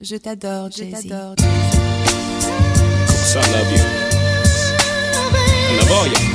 Je t'adore, Jay-Z. So I love you. I love all y'all.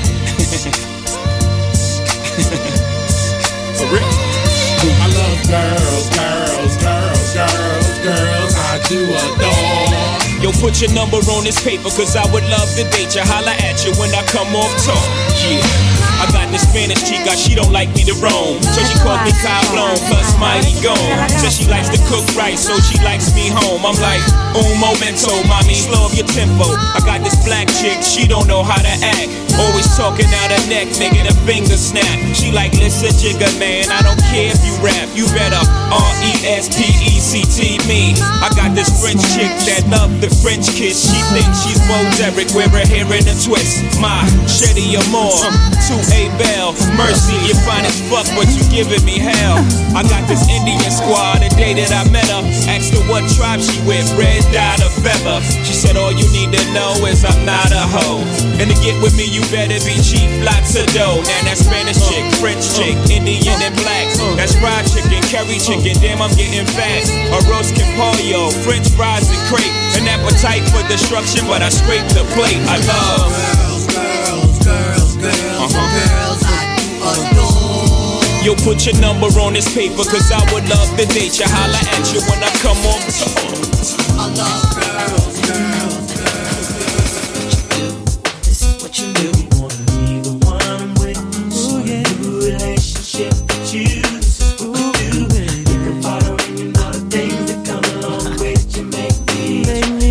For real. I love girls, girls, girls, girls, girls. I do adore. Yo, put your number on this paper, cause I would love to date you. Holla at you when I come off tour. Yeah. I got this Spanish chica, she don't like me to roam. So she calls me Cablon, plus mighty gone. Says she likes to cook right, so she likes me home. I'm like, un momento, mommy, slow up your tempo. I got this black chick, she don't know how to act. Always talking out her neck, making a finger snap. She like, listen, jigga, man, I don't care if you rap. You better R-E-S-P-E-C-T me. I got this French chick that love the French kiss. She thinks she's Bo Derek, wear her hair in a twist. My Shetty Amore, 2A Bell, Mercy, you're fine as fuck, but you giving me hell. I got this Indian squad, the day that I met her. Asked her what tribe she with, red dot or feather. She said all you need to know is I'm not a hoe. And to get with me, you better be cheap, lots of dough. Now that Spanish chick, French chick, Indian and black. That's fried chicken, curry chicken, damn I'm getting fat. Arroz con pollo, French fries and crepe. An appetite for destruction, but I scrape the plate. I love girls, girls, girls, girls, girls. I adore. Yo, put your number on this paper, cause I would love to date you. Holla at you when I come on tour. I love girls, girls, girls, girls. This is what you do. You wanna be the one I'm with. So yeah, new relationship with you. This is what you do. You can follow and you know the things that come along with you. Make me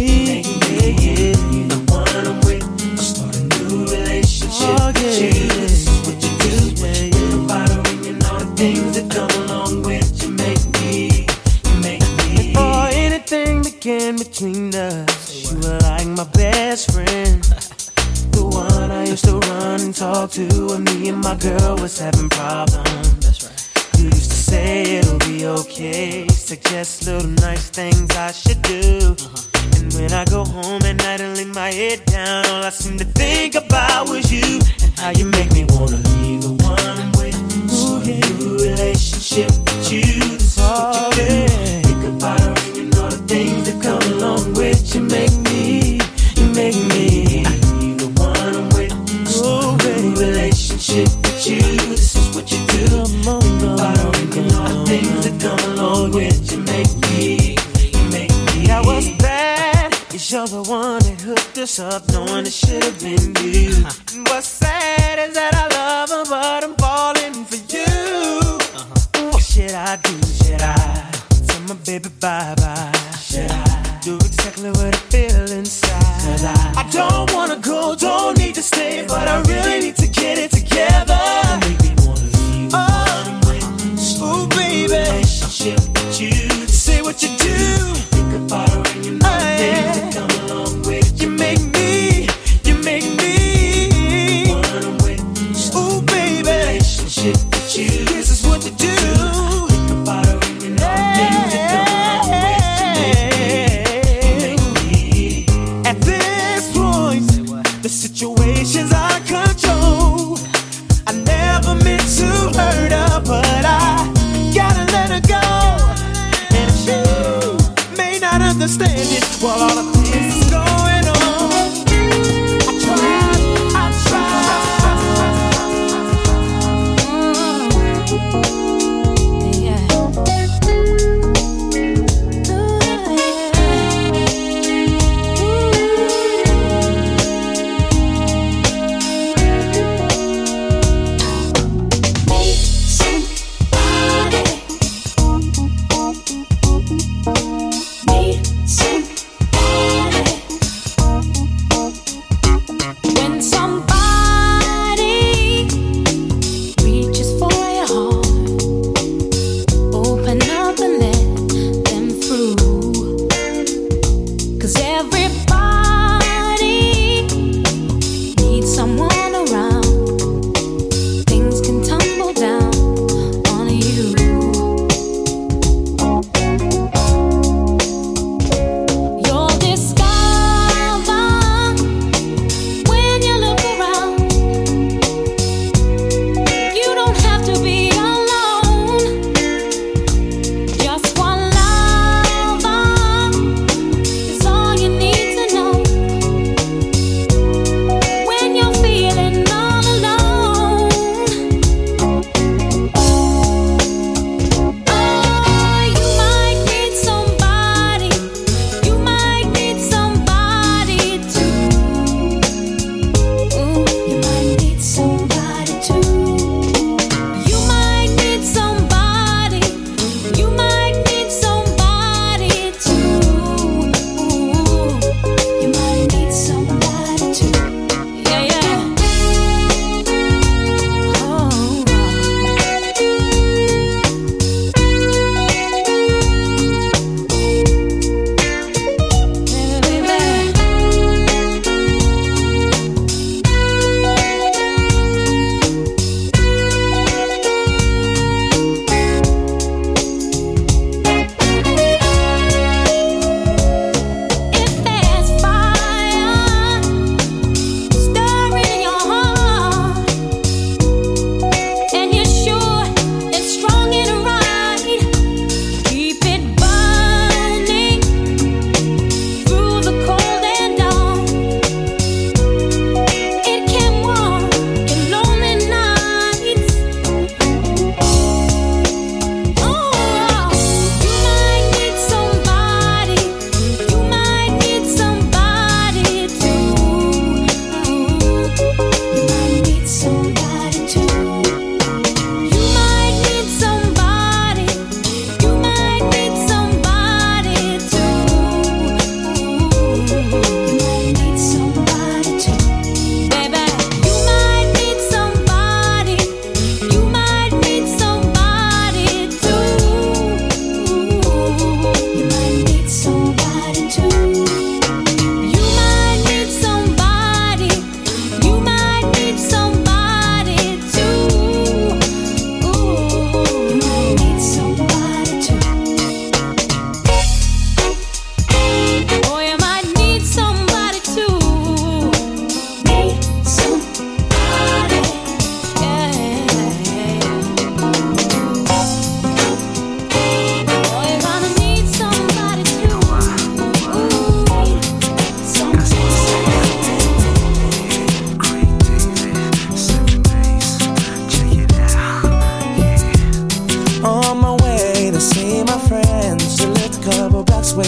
the one I'm with. I'll start a new relationship with you. This is what you do. You can follow and you know the things that come along with you. Make me. For anything that came between us, you were like my best friend. The one I used to run and talk to when me and my girl was having problems. That's right. You used to say it'll be okay, suggest little nice things I should do. And when I go home at night and lay my head down, all I seem to think about was you and how you make me wanna be the one I'm with. So a new relationship with you. This is what you do. Think about her and you know the things that come along with you. Make me the one I'm with. So a new relationship with you. This is what you do. Think about her and you know the things that come along with you. Make me. I was bad, 'cause you're the one that hooked us up, knowing it should have been you. And what's sad is that I love her, but I'm falling for you. What should I do? Should I tell my baby bye-bye? Should I do exactly what I feel inside? Cause I don't wanna go, don't need to stay, but I really need to get it together. Make me wanna be the one I'm with. Ooh, baby, relationship with you. Say what you do. Think about her and you know the things that come along with you. Make me the one I'm with. Ooh, baby, relationship with you. This is what you do. Think about her and you know the things that come along with you. Make me. At this point, the situation's out of control. I never meant to hurt her, but I gotta let her go. And if you may not understand it, while all of this is going on, I tried. Need somebody.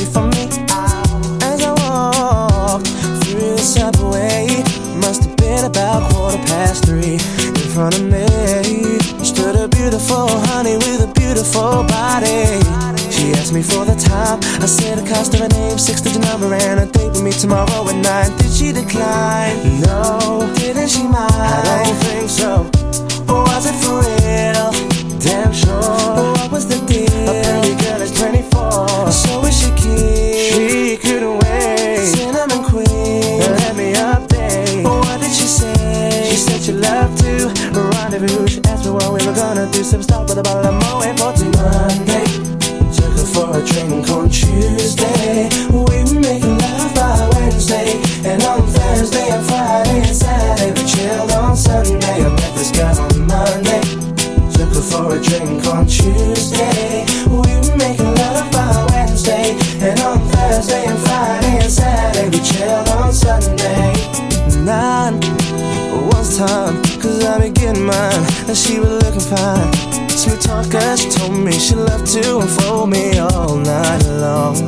away from me. As I walked through the subway, must have been about 3:15. In front of me stood a beautiful honey with a beautiful body. She asked me for the time. I said the cost of her name, 6-digit number, and a date with me tomorrow at 9. Did she decline? No. Didn't she mind? I don't think so. Was it for real? Damn sure. What was the deal? A pretty girl is 24, so is she keen? She couldn't wait. Cinnamon queen, let me update. What did she say? She said she loved to rendezvous. She asked me what we were gonna do. Some stop with a bottle of Moet for Monday. Took her for a drink on Tuesday. We were making love by Wednesday, and on Thursday and Friday and Saturday we chilled on Sunday. I met this guy on Monday. Took her for a drink on Tuesday. We were making love by Wednesday, and on Thursday and Friday and Saturday we chilled on Sunday. 9 was time, 'cause I be getting mine, and she was looking fine. Sweet talker, she told me she loved to unfold me all night long.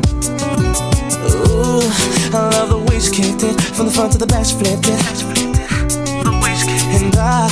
Ooh, I love the way she kicked it, from the front to the back she flipped it. And I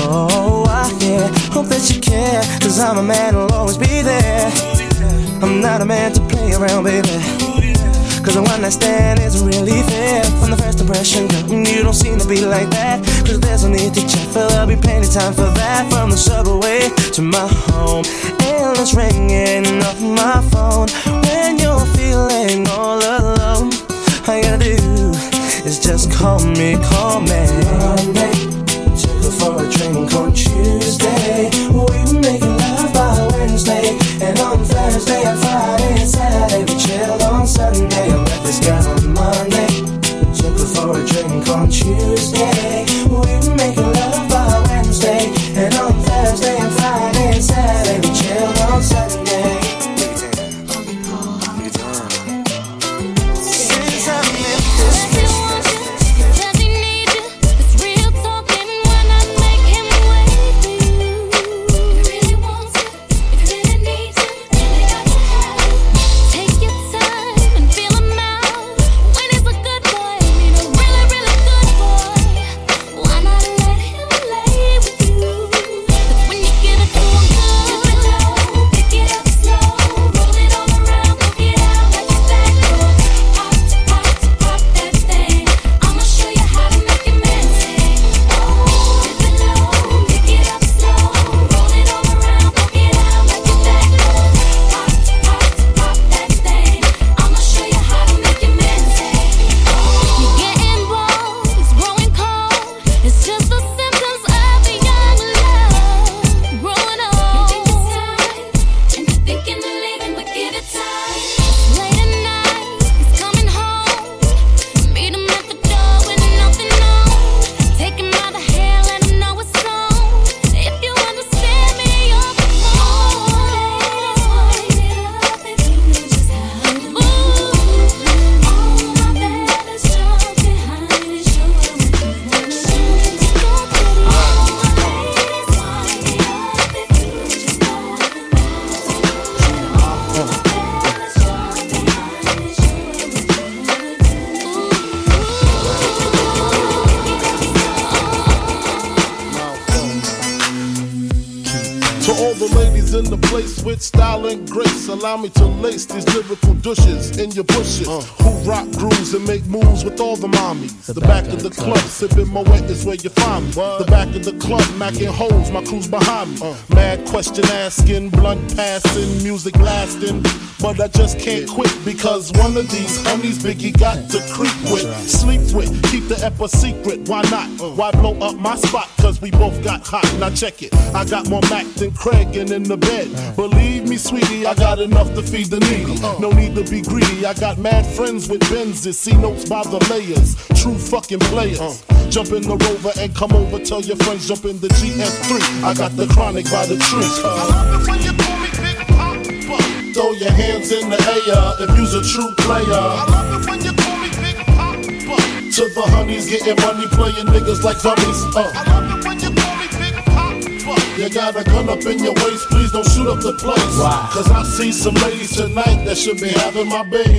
yeah, hope that you care, 'cause I'm a man who'll always be there. I'm not a man to play around, baby, 'cause a one-night stand isn't really fair. From the first impression, girl, you don't seem to be like that. 'Cause there's no need to check, for there'll be plenty time for that. From the subway to my home, endless ringing off my phone. When you're feeling all alone, all you gotta do is just call me. Monday, took her for a drink on Tuesday. We were making love by Wednesday, and on Thursday and Friday and Saturday we chilled on Sunday. I met this guy on Monday. Took her for a drink on Tuesday. We were making love by Wednesday, and on Thursday and Friday and Saturday we chilled on Sunday. Since I met this allow me to lace these lyrical douches in your bushes who rock grooves and make moves with all the mommies. The back of the club, sipping Moet is where you find me. The back of the club, macking holes, my crew's behind me. Mad question asking, blunt passing, music lasting. But I just can't quit because one of these homies Biggie got to creep with, sleep with, keep the ep a secret. Why not? Why blow up my spot? Cause we both got hot. Now check it. I got more Mac than Craig and in the bed. Believe me, sweetie, I got enough to feed the needy. No need to be greedy. I got mad friends with Benzes, see notes by the layers. True fucking players. Jump in the Rover and come over. Tell your friends jump in the GS3. I got the chronic by the tree. I love it when you call me Big Papa. Throw your hands in the air if you's a true player. I love it when you call me Big Papa. To the honeys getting money, playing niggas like dummies. I love it when you call me Big Papa. You got a gun up in your waist, please don't shoot up the place. Why? Cause I see some ladies tonight that should be having my baby.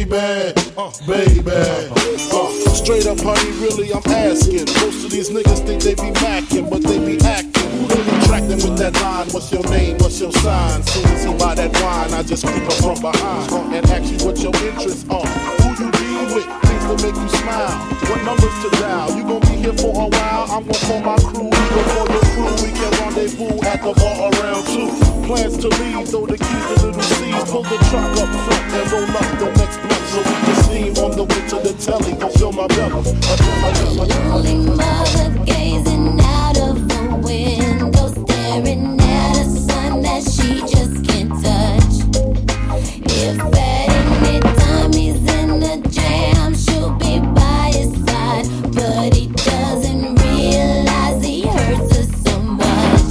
Straight up, honey, really, I'm asking. Most of these niggas think they be macking, but they be acting. Who they attracting with that line? What's your name? What's your sign? Soon as he buy that wine, I just creep up from behind and ask you what your interests are. Who you be with? Things to make you smile. What numbers to dial? You gon' be here for a while. I'm gon' call my crew. You gon' call your crew. We can rendezvous at the bar around 2. Plans to leave, throw the keys to little C's. Pull the truck up front and roll up the next block so we can steam on the way to the telly. Gon' fill my belly. Lonely mother gazing out of the window, staring at a sun that she just can't touch. If at any time he's in the jam, she'll be by his side, but he doesn't realize he hurts her so much.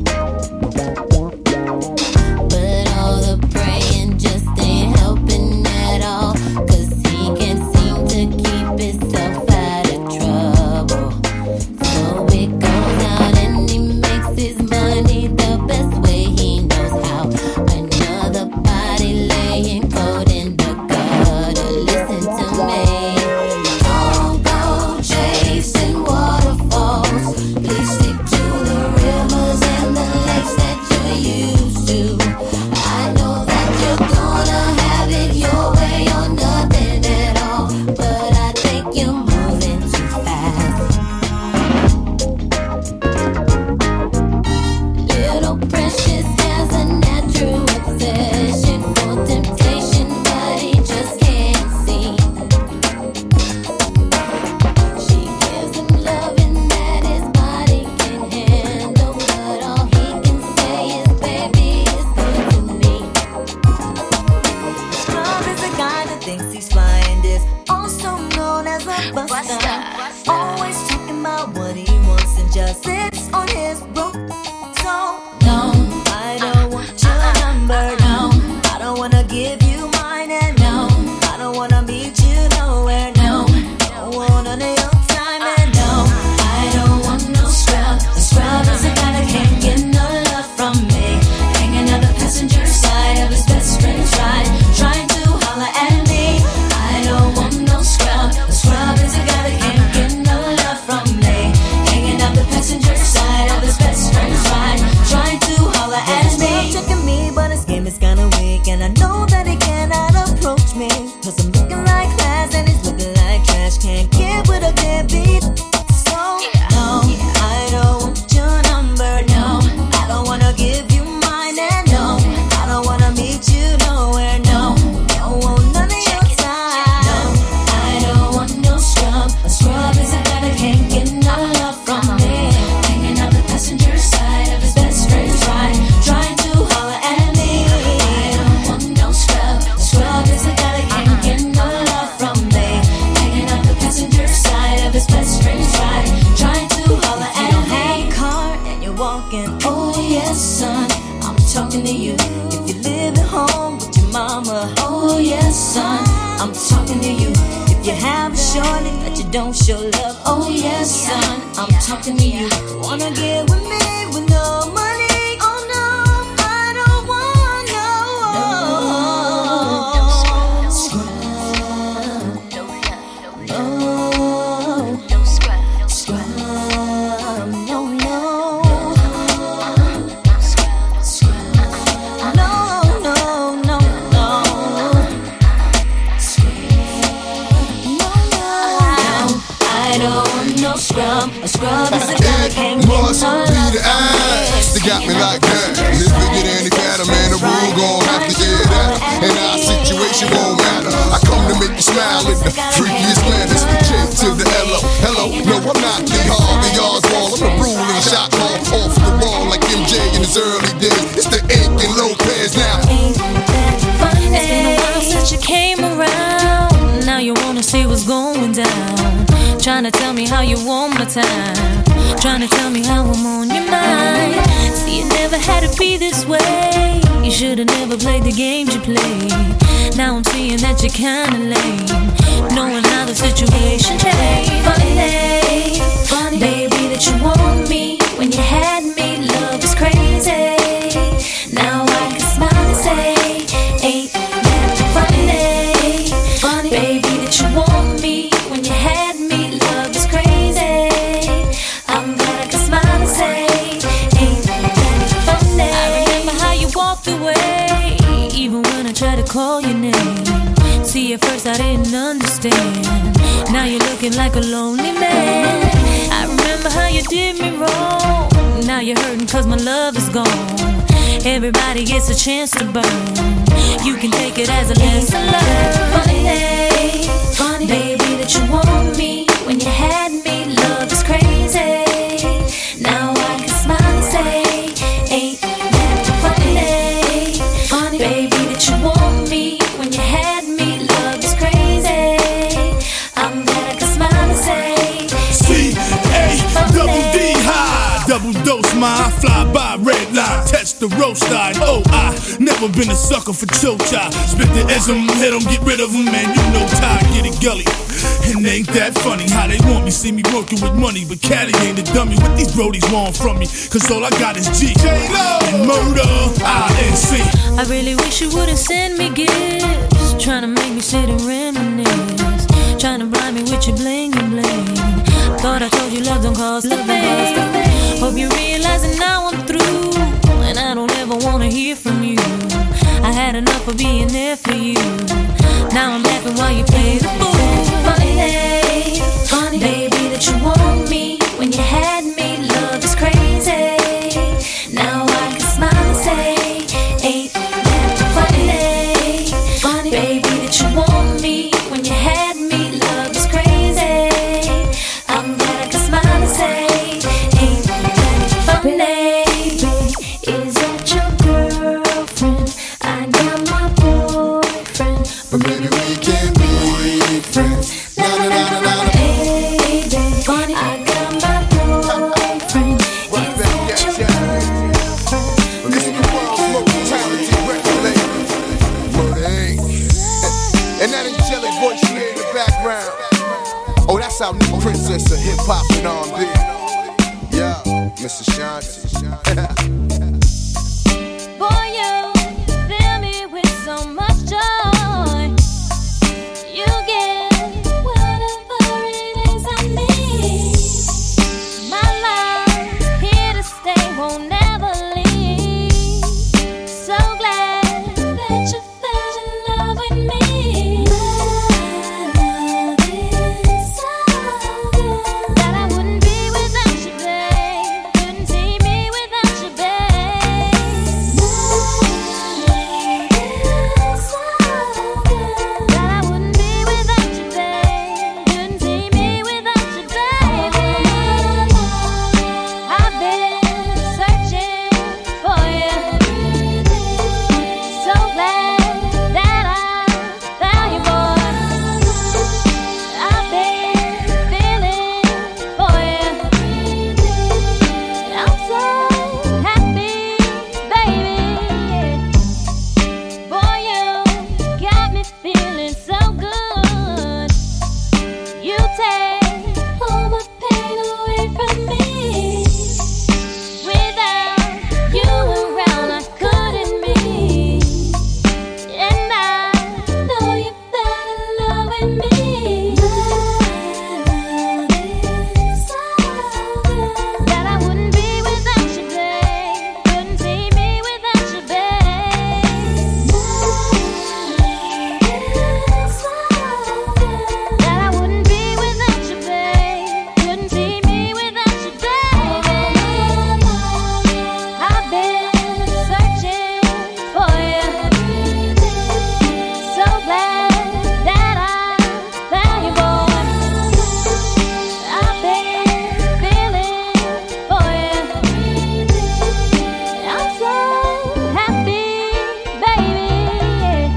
But all the praying just ain't helping at all, 'cause he can't seem to keep himself out of trouble. So it goes out and he makes his money the best way he knows how. Another body laying cold in the gutter. Listen to me. Don't go chasing waterfalls. Please stick to the rivers and the lakes that you're used to. I know that you're gonna have it your way or nothing at all, but I think you're moving too fast. Little Precious has a natural obsession for temptation, but he just can't see. She gives him loving that his body can handle, but all he can say is, baby, it's good to me. Scrub is a guy that thinks he's flying this, also known as a buster. Always talking about what he wants and just sits on his broke. So No, I don't want your number, no. I don't wanna give you mine, and no, I don't wanna meet you nowhere, no. Don't want none of your time, and no, I don't want no scrub. A scrub is a guy that can't get no love from me. Hanging on the passenger side of his best friend's ride, trying to holler at me. I don't want no scrub. A scrub is a guy that can't get no love from me. Hanging on the passenger side of his best friend's ride, trying to holler at me. Checking me, but his game is kinda weak, and I know that he cannot approach me, 'cause I'm looking like class and he's looking like trash. Can't get with a deadbeat. So no, I don't want your number, no. I don't wanna give you mine, and no, I don't wanna meet you nowhere, no. Don't want none of your time. No, I don't want no scrub. A scrub is a guy that can't get no love from me. Hanging out the passenger side of his best friend's ride, trying to holler at me. I don't want no scrub. A scrub is a guy that can't get no love from me. Hanging out the passenger side of his best friend's ride, trying to holler at me. You don't have a car and you're walking. Oh yes, son, I'm talking to you. If you live at home with your mama. Oh yes, son, I'm talking to you. If you have a shorty that you don't show love. Oh yes, son, I'm talking to you. Wanna get with me with no money? Oh no, I don't want no scrub. No scrub. Scrub. No, no. Scrub. No, no, no, no. I don't want no scrub. A scrub is a guy that can't get no Must love be the eyes from that got me me. like that. And if it get any fatter, man, the rule gon' have to hear that. And our situation won't matter. I come to make you smile in the freakiest manners. J to the L-O. Hello, no, I'm not the Harvey Oswald. I'm the ruling shot call off the wall like MJ in his early days. It's the Ink and Lopez now. Ain't that funny? It's been a while since you came around. Now you wanna see what's going down. Trying to tell me how you want my time. Trying to tell me how I'm on your mind. See, it never had to be this way. You should've never played the games you played. Now I'm seeing that you're kinda lame, knowing how the situation changed. Funny, baby, that you want me when you had me. Love is crazy. baby, that you want me when you had me. Love is crazy. I'm glad I can smile and say, ain't that funny? I remember how you walked away, even when I tried to call your name. See, at first I didn't understand. Now you're looking like a lonely man. I remember how you did me wrong. Now you're hurting cause my love is gone. Everybody gets a chance to burn. You can take it as a lesson learned. Funny, baby, that you want me when you had me. Love is crazy. Now I can smile and say, ain't that funny, baby, that you want me when you had me. Love is crazy. I'm glad I can smile and say, C-A-double-D high, double dose my fly by red line, touch the roast line. Oh, I never been a sucker for chocha. Spit the ism, hit 'em, get rid of 'em, man. You know Ty, get it gully. And ain't that funny how they want me, see me working with money, but Caddy ain't a dummy. What these brodies want from me? Cause all I got is G and murder, I-N-C. I really wish you wouldn't send me gifts, trying to make me sit and reminisce, trying to blind me with your bling and bling. Thought I told you love don't cost a thing. Hope you realizing now I'm through, and I don't ever wanna hear from you. I had enough of being there for you. Now I'm laughing while you play the fool. Funny, baby, that you want me when you had me. Love is crazy. Now I can smile and say, ain't that funny, baby, that you want me when you had me. Love is crazy. I'm glad I can smile and say, ain't that funny. Baby, is that your girlfriend? I got my boyfriend, but maybe we can be friends. Baby, funny, I got my boyfriend. Is that your girlfriend? This is the world's most talented record label. Word ain't. And that angelic voice you hear in the background. Oh, that's our new princess of hip hop and R&B. Yeah, Mr. Shanti. Boy, you fill me with so much joy. You get whatever it is I need. My love here to stay, won't never leave. So glad that you fell in love with me. My love is so good that I wouldn't be without you, babe. Couldn't see me without you, babe. My love is so good that I wouldn't be without you, babe. Couldn't see me without you, baby. I've been searching for you. So glad that I found you, boy. I've been feeling for you. I'm so happy, baby. Boy, you got me feeling so good. You take all my pain away from me. Without you around, I couldn't be. And I know you fell in love with me. My love is so good that I wouldn't be without you, babe. Couldn't see me without you, babe. My love is so good that I wouldn't be without you, babe. Couldn't see me without you, babe. I've been searching for you. So glad that I found you, boy. I've been feeling for you. I'm so happy, baby.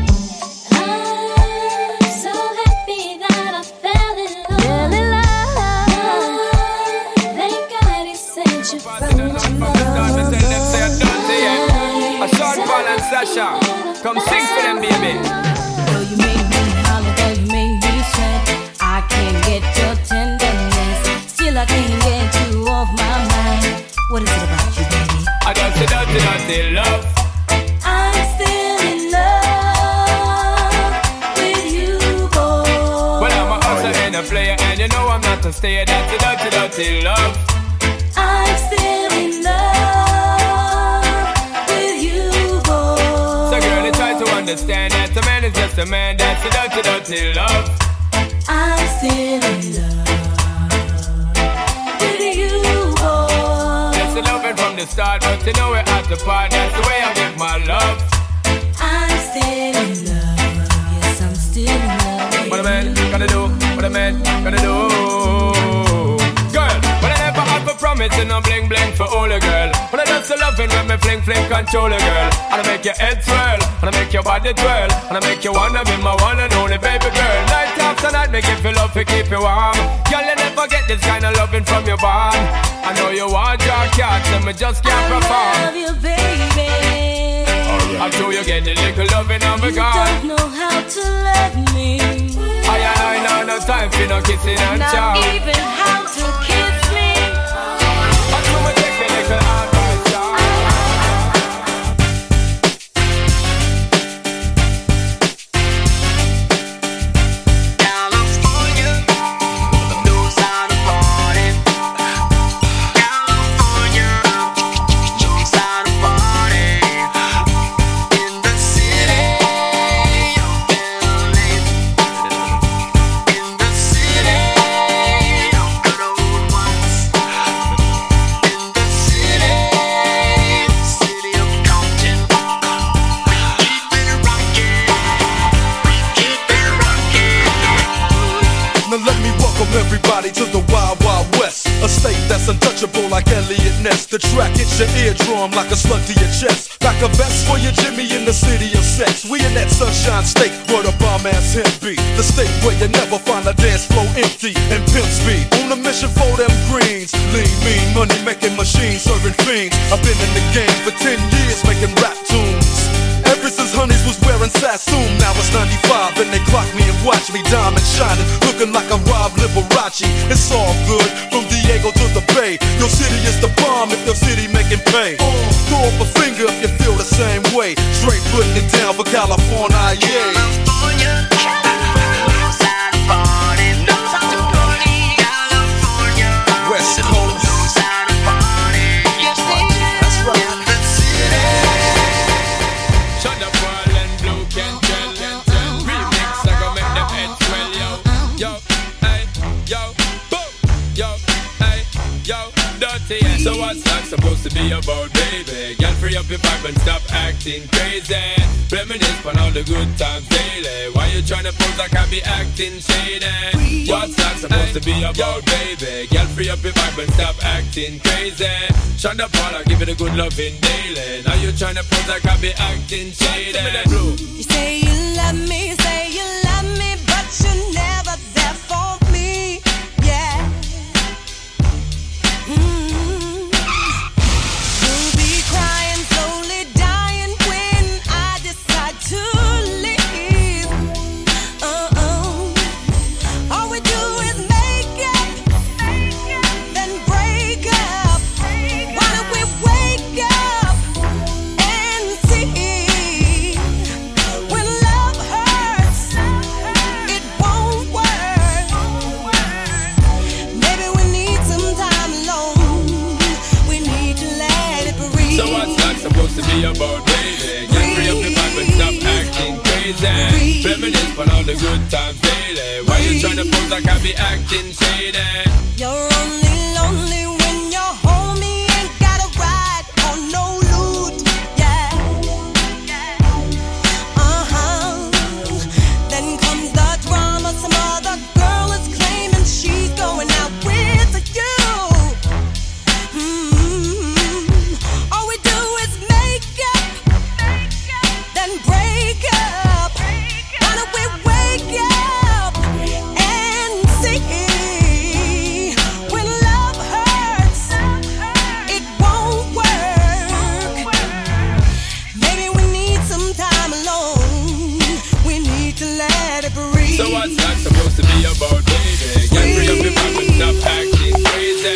I'm so happy that I fell in love. Thank God he sent you from A short ball and Sasha, come sing for them, baby. Though you made me holler, though you made me sweat, I can't get your tenderness. Still I can't get you off my mind. What is it about you, baby? I got to dirty love. I'm still in love with you, boy. a player, and you know I'm not a stayer. That's a dirty, dirty love. I'm still in love with you, boy. So girl, you try to understand that a man is just a man. That's a dirty, dirty love. I'm still in love with you, boy. That's the loving from the start, but you know we're at the part. That's the way I give my love. I'm still in love. Yes, I'm still in love. What a man gonna do? What a man gonna do? Girl, but I never have a promise and no bling bling for all a girl. But I just loving when me fling fling control a girl. And I make your head swirl, and I make your body twirl, and I make you wanna be my one and only baby girl. Night after night, make you feel love to keep you warm. Girl, you never get this kind of loving from your bond. I know you want your cat, and me just can't perform. I love you, baby. I'm sure you get the little loving on my You God. don't know how to love me. I know no time for no kissing and chow. Not even how to kiss me. I'm gonna take the little advice, chow. California, knows how to party. California, knows how to party. In the city of LA. In the city of good old ones. In the city of Compton. We keep it rockin'. We keep it rockin'. Now let me welcome everybody to the Wild Wild West, a state that's untouchable like Elliot Ness. The track hits your eardrum like a slug to your chest. Back a vest for your Jimmy in the city of sex. We in that sunshine state where the bomb ass hemp be. The state where you never find a dance floor empty and pimp speed. On a mission for them greens. Lean, mean, money making machines serving fiends. I've been in the game for 10 years making rap tunes. Ever since Honeys was wearing Sassoon, now it's 95 and they clock me and watch me diamond shining, looking like I'm Rob Liberace. It's all good, from Diego to the Bay. Your city is the bomb if your city making pay. Throw up a finger if you feel the same way. Straight putting it down for California, yeah. California, knows how to party. Knows how to party. California, West Coast. knows how to party. That's right. In the city. Shut up, Paul and Blue can tell. Remix, I go make them head swell, yo. Yo, hey, yo, boom. Yo, hey, yo, dirty. So what's that supposed to be about, baby? Girl, free up your vibe and stop acting crazy. Reminisce on all the good times daily. Why you tryna pose like I be acting shady? What's that supposed to be about, baby? Girl, free up your vibe and stop acting crazy. Shonda Paula, give it a good loving daily. Now you tryna pose like I be acting shady. You say you love me, but you're never there for me. Yeah. You'll be crying, slowly dying when I decide to leave. All we do is make up, then break up. Why don't we wake up and see? When love hurts, it won't work. Maybe we need some time alone. We need to let it breathe. So what's that supposed to be about, baby? Get free up your vibe and stop acting crazy. Reminisce on all the good times daily. Why you tryna pose like I be acting shady? You're only lonely when you're home. You ain't got a ride or no loot. Yeah. Then comes the drama. Some other girl is claiming she's going out with you. All we do is make up, then break up. Why don't we wake up and see? When love hurts, it won't work. Maybe we need some time alone. We need to let it breathe. So what's that supposed to be about, baby? Get free up your vibe and stop acting crazy.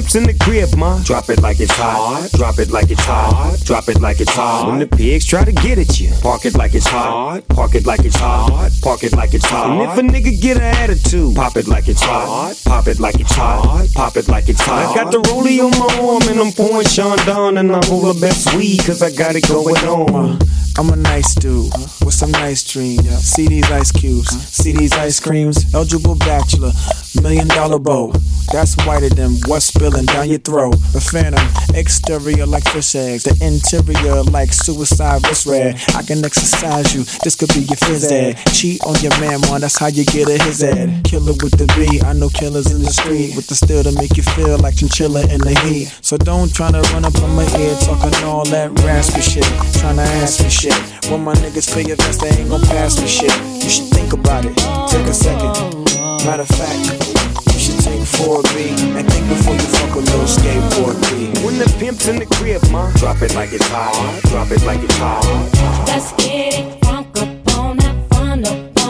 pimps in the crib, ma. Drop it like it's hot. Drop it like it's hot. Drop it like it's hot. When the pigs try to get at you, park it like it's hot. Park it like it's hot. Park it like it's hot. And if a nigga get an attitude, pop it like it's hot. Pop it like it's hot. Pop it like it's hot. I got the rollie on my arm and I'm pouring Sean Don and I roll the best weed cause I got it going on. I'm a nice dude with some nice dreams. See these ice cubes, see these ice creams. Eligible bachelor, $1 million bow. That's whiter than what's spilling down your throat. The phantom, exterior like fish eggs, the interior like suicide wrist red. I can exercise you, this could be your phys ed. Cheat on your man, man, that's how you get a his ed. Killer with the B, I know killers in the street with the steel to make you feel like chinchilla in the heat. So don't tryna run up on my ear talking all that raspy shit, tryna ask me shit. When my niggas feel your vest, they ain't gon' pass me shit. You should think about it, take a second. Matter of fact, you should take 4B and think before you fuck a little skateboard B. When the pimp's in the crib, ma, drop it like it's hot. Drop it like it's hot. Let's get it funk up on that fun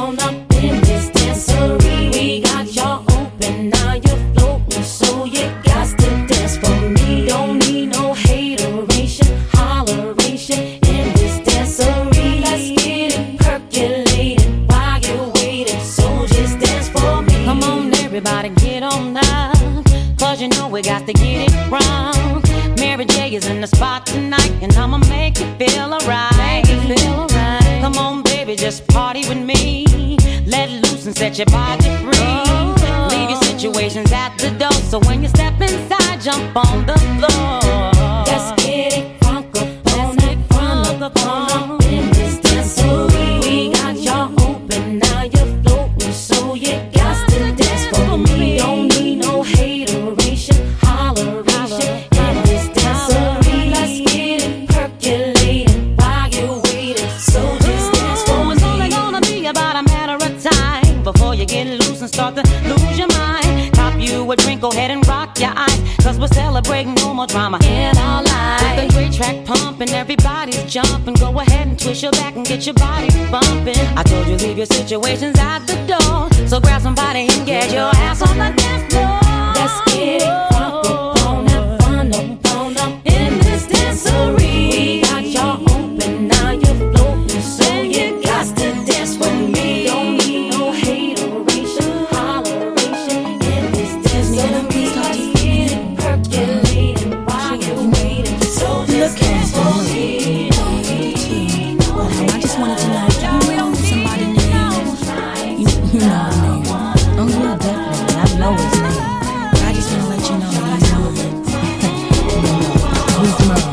up in this dancery. We got y'all open, now you're floating, so you got to dance for me. Don't need no hateration, holleration in this dancery. Let's get it percolating while you're waiting, so just dance for me. Come on, everybody, get on up, cause you know we got to get it wrong. Mary J is in the spot tonight, and I'ma make you feel alright. Come on, baby, just party with me. Let loose and set your body free. Leave your situations at the door, so when you step inside, jump on the floor. Let's get it funk up on that funk up on in this dancery. We got y'all open, now you're floating, so you got to dance for me. Don't need no hateration, holleration in this dancery. Let's get it percolating while you're waiting, so just dance for me. It's only gonna be about a matter of time before you get loose and start to lose your mind. Cop you a drink, go ahead and rock your eyes, cause we're celebrating no more drama in our lives. With a great track pumping, everybody's jumping. Go ahead and twist your back and get your body bumping. I told you leave your situations at the door, so grab somebody and get your ass on the dance floor. Let's get it funk up on that fun up in this dancery. We got y'all open, now you're floating, so you got to dance for me. Don't need no hateration, holleration in this dancery. Let's get it percolating while you're waiting, so just dance for me. I just wanted to know if you know somebody named, you know his name. Oh yeah, definitely, I know his name. But I just want to let you know that he's moving. He's moving.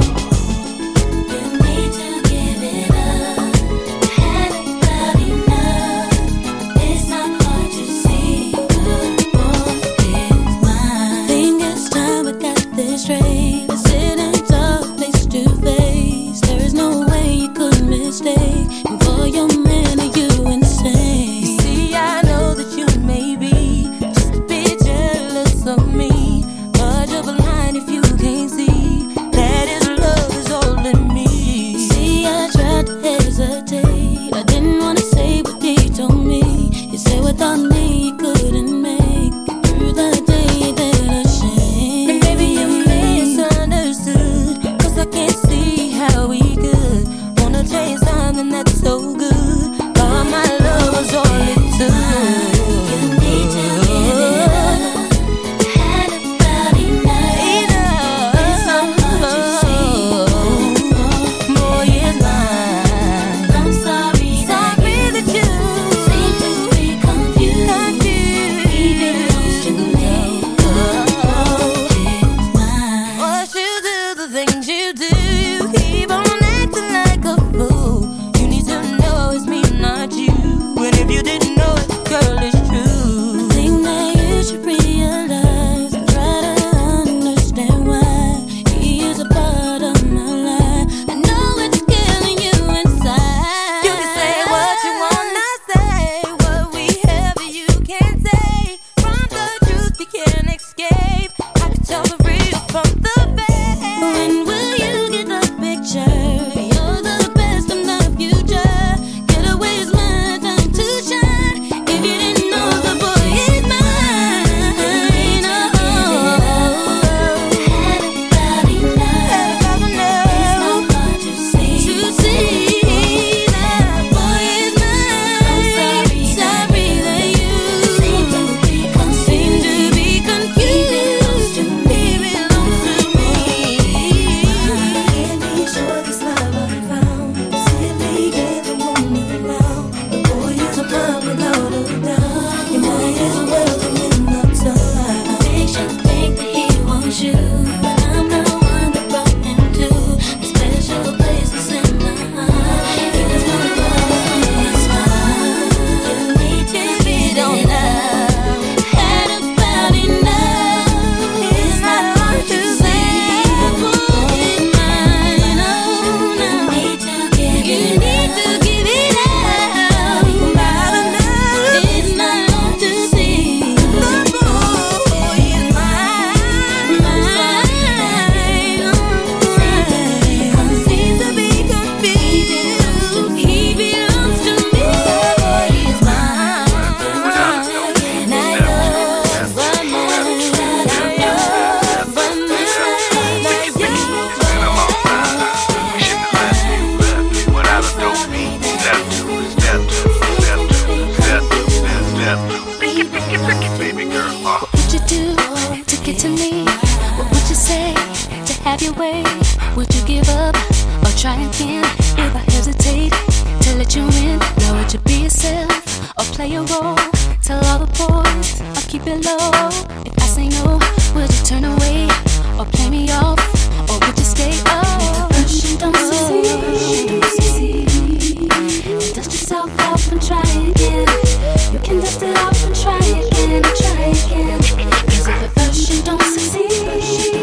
you roll. Tell all the boys I'll keep it low. If I say no, would you turn away or play me off, or would you stay up? First you don't succeed, dust yourself off and try again. You can dust it off and try again, try again. 'Cause if at first you don't succeed,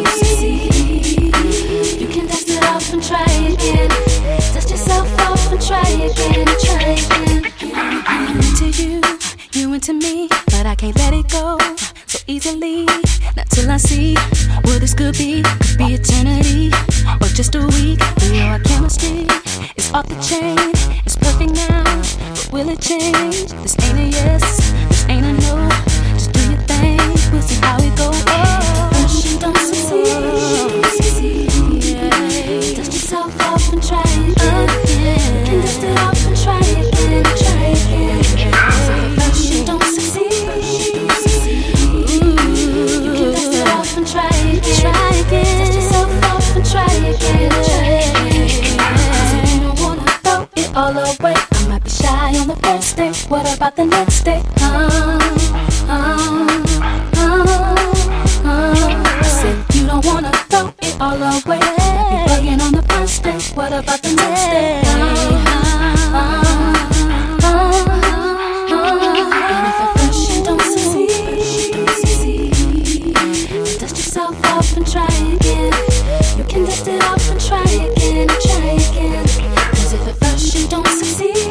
you can dust it off and try again. Dust yourself off and try again, try again. Into you, you into me, but I can't let it go so easily. Not till I see what this could be eternity or just a week. You know our chemistry is off the chain. It's perfect now, but will it change? This ain't a yes, this ain't a no. Just do your thing, we'll see how it goes. First you don't succeed, dust yourself off and try again. You can dust it off and try again, try again. So first you don't succeed, you can dust it off and try again, try again. Dust yourself off and try again, try again. So you don't wanna throw it all away. I might be shy on the first day, what about the next day? I said you don't wanna throw it all away. Be bugging on the first day, what about the next day? And if at first you don't succeed, dust yourself off and try again. You can dust it off and try again, try again. 'Cause if at first you don't succeed,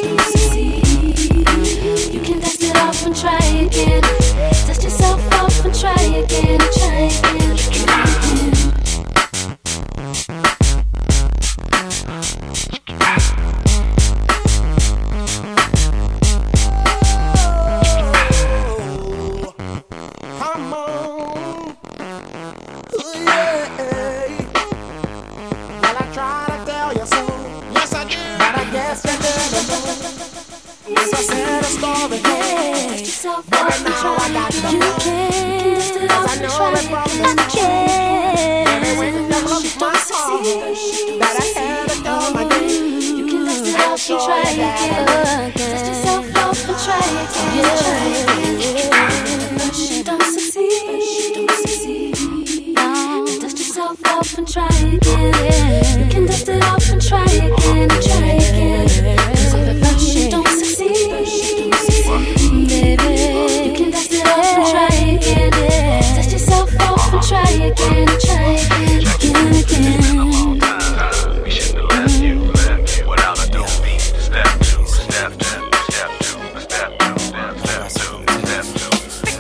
you can dust it off and try again. Dust yourself off and try again, try again, try again. Come on. Ooh, yeah. Well, I try to tell you so. Yes, I did. But I guess you didn't know. Yes, I said a story. Dust yourself off and Now I try got again. the You can dust it off I and know try it from again. the Again. when you look my heart, that I had to come again. You can dust it off and try again. Dust yourself off and try again. Try again. First you don't succeed. Dust yourself off and try again. You can dust it off and try again. Try again. 'Cause if at first you don't succeed, baby, you can dust it off and try again. Dust yourself off and try again. Try again. Again, again. We shouldn't have left you without a dope beat. Step two, step two, step two, step two, step two, step two.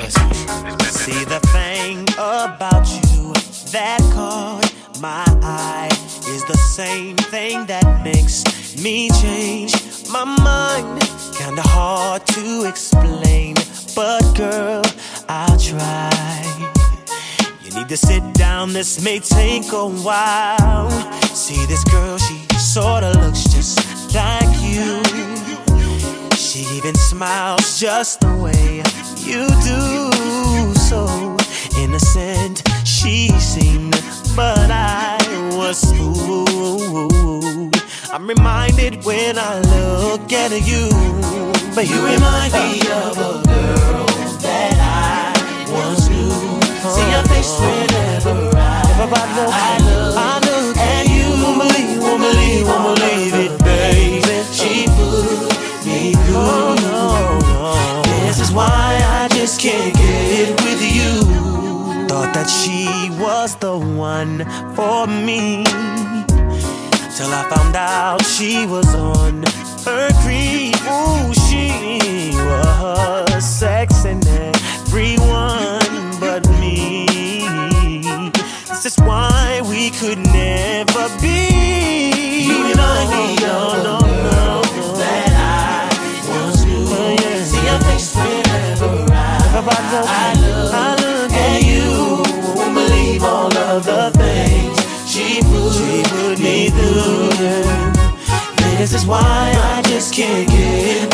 See the thing about you that caught my eye is the same thing that makes me change my mind. Kinda hard to explain, but girl, I'll try. You need to sit down, this may take a while. See this girl, she sorta looks just like you. She even smiles just the way you do. So innocent she seemed, but I was fooled. I'm reminded when I look at you, but you remind me of a girl that I once knew. See your face whenever I look at you. Won't believe it, baby. She put me through. This is why I just can't get with you. Thought that she was the one for me, till I found out she was on her creep. Ooh, she was sexing everyone but me. This is why we could never be. You remind me, no, that I once knew. See your face whenever I look at you. Won't believe all of the things she put me through. This is why I just can't get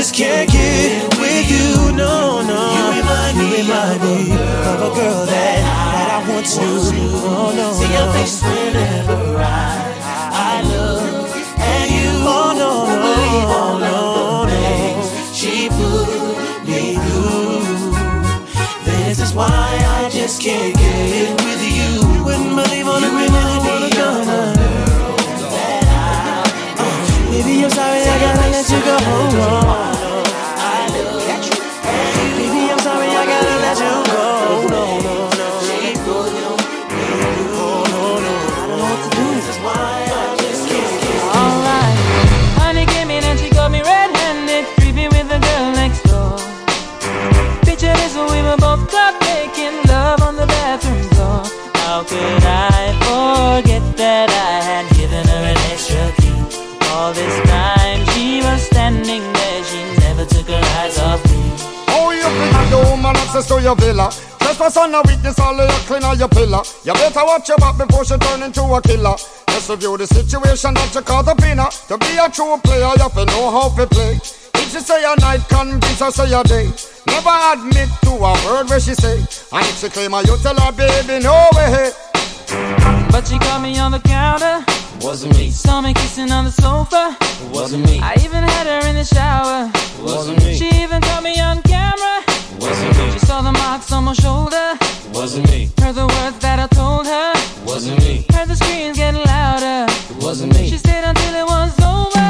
just can't get with you, no. You remind me of a girl that I want to. Oh no, see your face whenever I look at you. Oh no, believe all of the things she put me through. This is why I just can't get with you. You wouldn't believe all the women I girl that baby, I'm sorry, I gotta let you go. Baby, I'm sorry, I gotta let you go. No. I don't know what to do. This is why I just can't get it. Alright, honey came in and she got me red-handed, creepy with the girl next door. Picture this when we were both caught making love on the bathroom floor. How could I forget that I had given her an extra key? All this time she was standing there, she never took her eyes off me. Oh, you think the woman access to your villa? Trespass on a witness, all of your clean on your pillar. You better watch your back before she turn into a killer. Just review the situation that you call the winner. To be a true player, you have to know how to play. If she say a night, convince her say a day. Never admit to a word where she say. And if she claim her, you tell her, baby, no way. But she caught me on the counter. Wasn't me. Saw me kissing on the sofa. Wasn't me. I even had her in the shower. Wasn't me. She even caught me on camera. Wasn't me. She saw the marks on my shoulder. Wasn't me. Heard the words that I told her. Wasn't me. Heard the screams getting louder. Wasn't me. She stayed until it was over.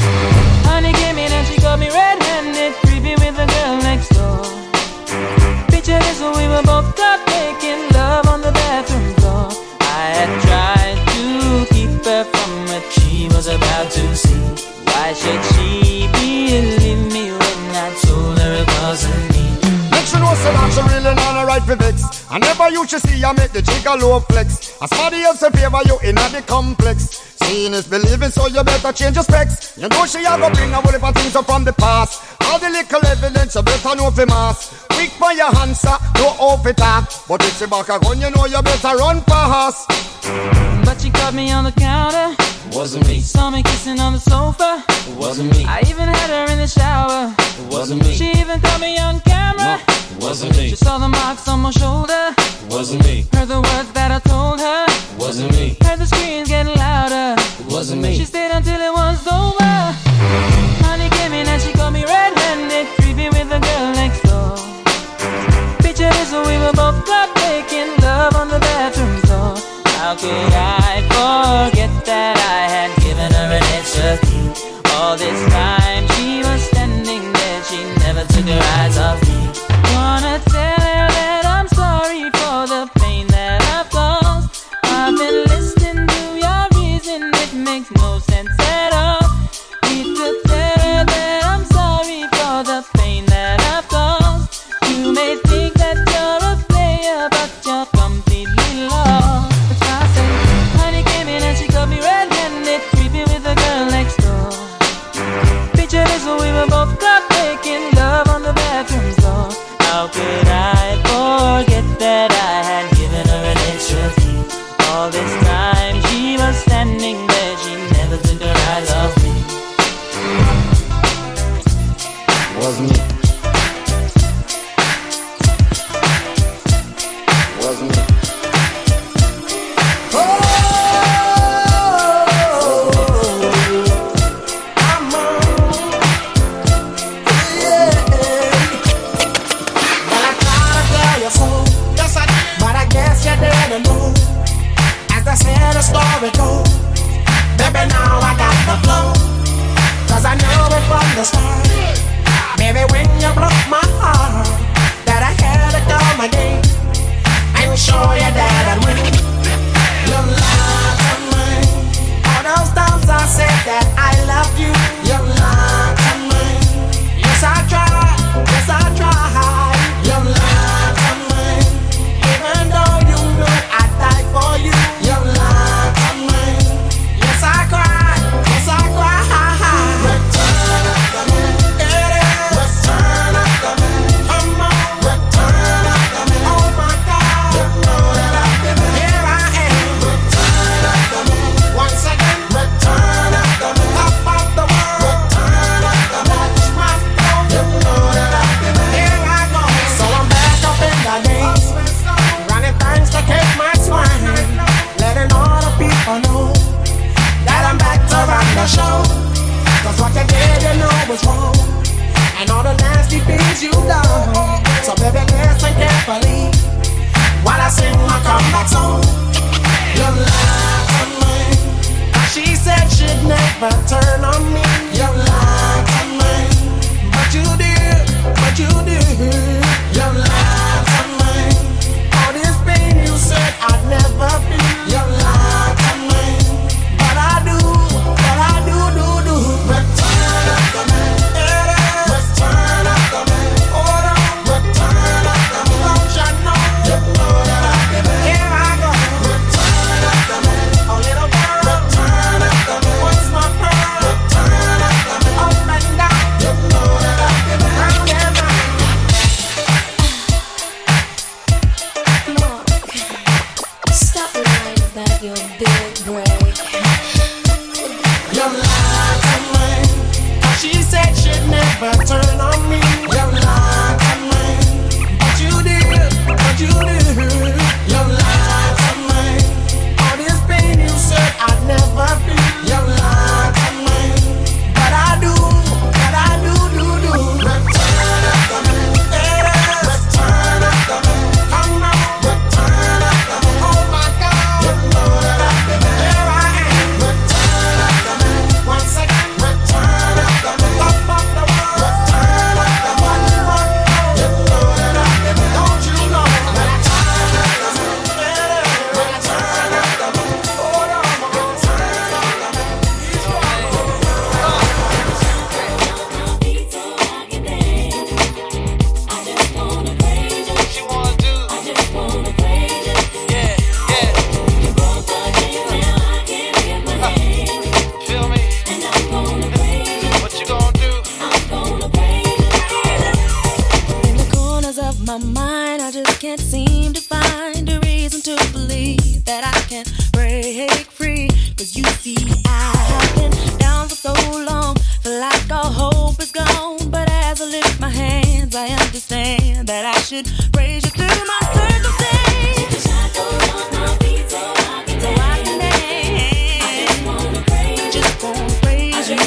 Honey came in and she got me red-handed, creepy with the girl next door. Picture this when we were both caught making love on the bathroom floor. I had tried to keep her from what she was about to see. Why should she believe me when I told her it wasn't me? Make sure no say that she really not a right for vex. I never you should see I make the jigger low flex. As somebody else in favor you in the complex. Seeing is believing, so you better change your specs. You know she a go bring a whole heap of things up from the past. All the little evidence you better know for mass. Quick for your answer, no off it talk. But if she back a gun, you know you better run fast. But she caught me on the counter. Wasn't me. Saw me kissing on the sofa. Wasn't me. I even had her in the shower. Wasn't me. She even caught me on camera. Wasn't me. She saw the marks on my shoulder. Wasn't me. Heard the words that I told her. Wasn't me. Heard the screams getting louder. Wasn't me. She stayed until it was over. Honey came in and she got me red-handed, creepy with the girl next door. Picture this when we were both caught making love on the bathroom floor. How could I forget that I had given her an extra key? All this time she was standing there, she never took her eyes off me. Wanna tell her that I'm sorry for the pain that I've caused. I've been listening to your reason, it makes no sense at all. Need to tell her that I'm sorry for the pain that I've caused. You may think that you're a player, but you're completely lost. That's why I say, honey came in and she got me red-handed, creepy with the girl next door. Picture this when we were both caught making love on the bathroom floor. How could I forget that I had given her an extra key? All this time she was standing there, she never took her eyes off me. Wasn't me. Wasn't me. Story goes, baby, now I got the flow. Cause I knew it from the start. Baby, when you broke my heart, that I had to come again and show you that I'd win. You lied to me. All those times I said that I loved you, you lied to me. Yes, I tried, yes, I tried. You lied to me. Even though you knew I'd die for you, you lied to me. Yes, I cried, yes, I cried. Return of the man, return of the man. Come on, return of the man. dedicate my swine, letting all the people know that I'm back to run the show. Cause what you did, you know was wrong, and all the nasty things you done. So baby, listen carefully while I sing my comeback song. You lied to me. She said she'd never turn on me. You lied to me, but you did, but you did. You lied to me. All this pain you said I'd never feel. You lied to me, but I do, do. Return up the man, return up the man. Hold on, return up the man. Don't you know that I give it? Here I go. Return up the man, a little girl. Return up the man, what's my pearl? Return up the man, up and down. You know that I give it. Round and round. Mark, stop lying about your big break. You lied to me. She said she'd never turn on me. You lied to me, but you did, but you did. You lied to me. All this pain you said I'd never feel. You lied to me, but I do, do. Return up the man, return up the man. Come on, return up the man. Oh my God, you know that I give it. Here I am. Return up the man. Once again, return up the man. Top of the world. Return up the man. You know that I give it. Don't you know? Return up the man. Return up the man. Hold on, return up the man. In the corners of my mind, I just can't seem to find a reason to believe that I can break free. Cause you see, I have been down for so long, feel like all hope is gone. But as I lift my hands, I understand that I should praise you through my circumstance. So I can dance. Just wanna praise you. Just wanna praise you.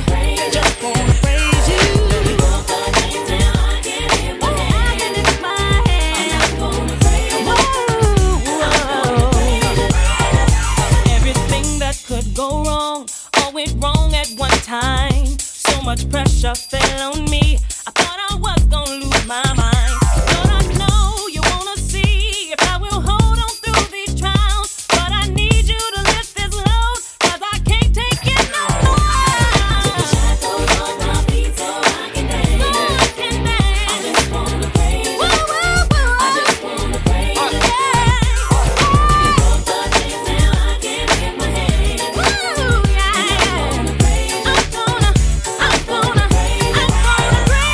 Everything that could go wrong, all went wrong at one time. So much pressure fell on me. I thought I was gonna lose my mind. Lord, I know you wanna see if I will hold on through these trials. But I need you to lift this load, cause I can't take it no more. Shackles on my feet so I can dance. So I can dance. I just wanna praise you. I just wanna praise you. You broke the chains, now I can lift my hands. I just wanna praise you. I'm gonna praise you.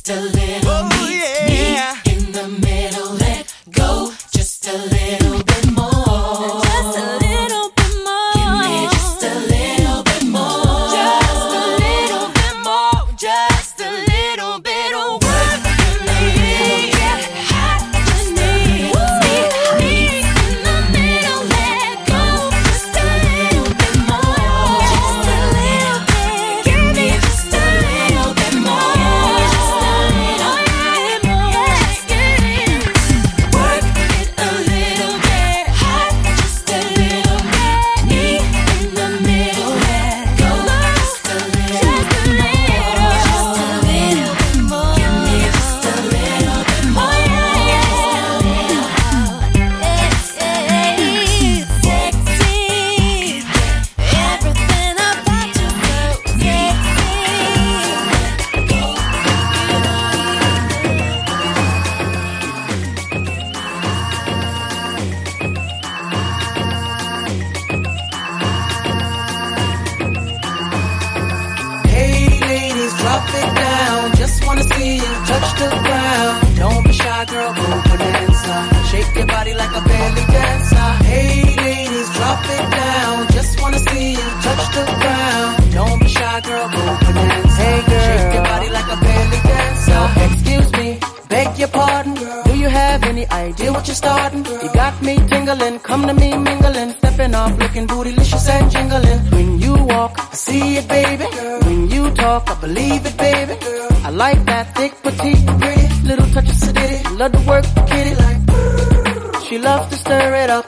just a little. Meet me in the middle. Let go just a little bit more. Just a little bit more. Give me just a little bit more. Just a little bit more. Just a little bit of work for me. Just me in the middle. Let go just a little bit more. Just a little bit. Give me just a little bit more. Just a little bit more. Just work it a little bit. Just a little bit. Me in the middle. Let go just a little. Just a little. Just a little bit more. Give me just a little bit more. Sexy, everything about you so Hey ladies, drop it down. Just wanna see you touch the ground. Don't be shy, girl, go bonanza. Shake your body like a belly dancer. Hey ladies, drop it down. Just wanna see you touch the ground. Don't be shy, girl, go bonanza. Hey girl, shake your body like a belly dancer. Excuse me, beg your pardon. Do you have any idea what you're starting? You got me tingling, come to me mingling, stepping off, looking bootylicious and jingling. When you walk, I see it, baby. When you talk, I believe it, baby. I like that thick, petite, pretty, little touch of sedity. Love to work the kitty like. She loves to stir it up.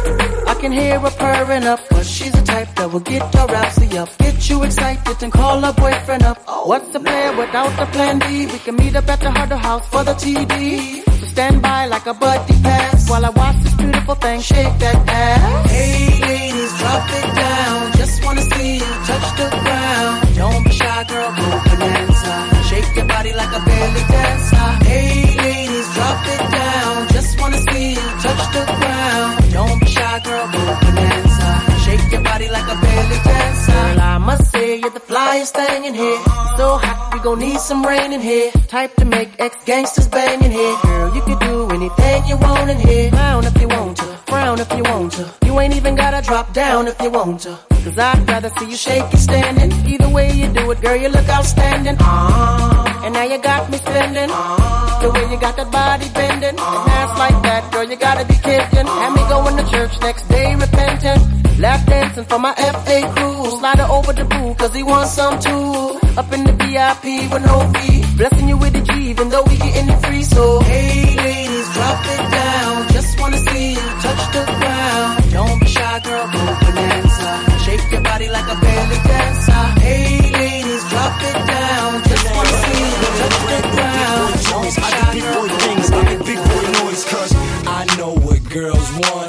I can hear her purring up, but she's the type that will get her rousey up, get you excited and call her boyfriend up. What's the plan without the plan B? We can meet up at the Harder House for the TD. So stand by like a buddy pass while I watch this beautiful thing shake that ass. Hey ladies, drop it down. Just wanna see you touch the ground. Don't be shy, girl, go bonanza. Shake your body like a belly dancer. Hey ladies, drop it down. Just wanna see you touch the ground. Don't be shy, girl, go bonanza. Shake your body like a belly dancer. Girl, I must say you're the flyest thing in here. So hot, we gon' need some rain in here. Type to make ex-gangsters bang in here. Girl, you can do anything you want in here. Frown if you want to, frown if you want to. You ain't even gotta drop down if you want to. Cause I'd rather see you shake it standing. Either way you do it, girl, you look outstanding. And now you got me spending. The way you got that body bending. And ass like that, girl, you gotta be kidding. Had me going to church next day repentant. Lap dancing for my FA crew. Slide her over the boo, cause he wants some too. Up in the VIP with no fee. Blessing you with a G, even though we getting it free. So, hey ladies, drop it down. Just wanna see you touch the ground. Don't be shy, girl, go bonanza. Shake your body like a belly dancer. Hey ladies, drop it down. Just wanna see you touch the ground. Don't be shy, girl, go bonanza. I make big boy noise, cause I know what girls want.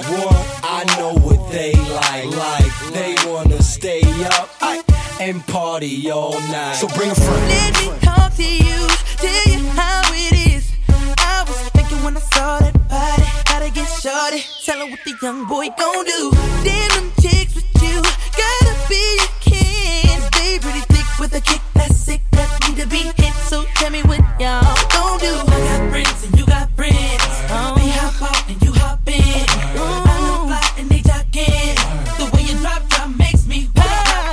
I know what they like. They wanna stay up and party all night. So bring a friend. Let me talk to you, tell you how it is. I was thinking when I saw that body, gotta get shorty. Tell her what the young boy gon' do. Damn them chicks with you, gotta be your kin. Stay pretty thick with a kick that's sick, that need to be hit. So tell me what y'all gon' do. I got friends and you got friends. We hop out and you hop in. I look fly and they talking. The way you drop makes me wild.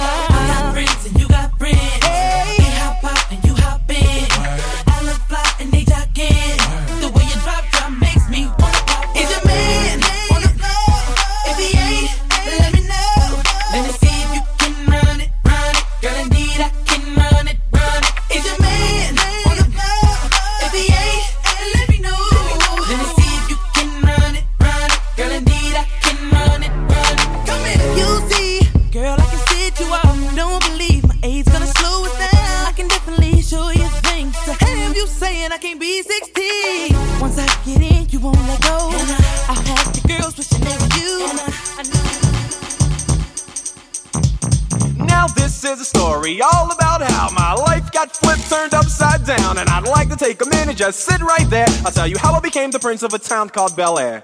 I got friends and you got friends. We hop out and you hop in. I look fly and they talking. The way you drop makes me wanna pop. Is your man on the floor? If he ain't, let me know. Let me see if you can run it, run it. Girl, indeed I can run it, run it. Is your man on the floor? If he ain't, let me know. Let me see if you can run it, run it. Girl, indeed I can run it, run it. Come here, you see, girl, I can sit you up. Don't believe my age gonna slow us down. I can definitely show you things. So have you saying I can't be 16? Once I get in, you won't let go. I'll have the girls wishing they were you. I know. Now this is a story all about how my life got flipped, turned upside down. And I'd like to take a minute, just sit right there. I'll tell you how I became the prince of a town called Bel Air.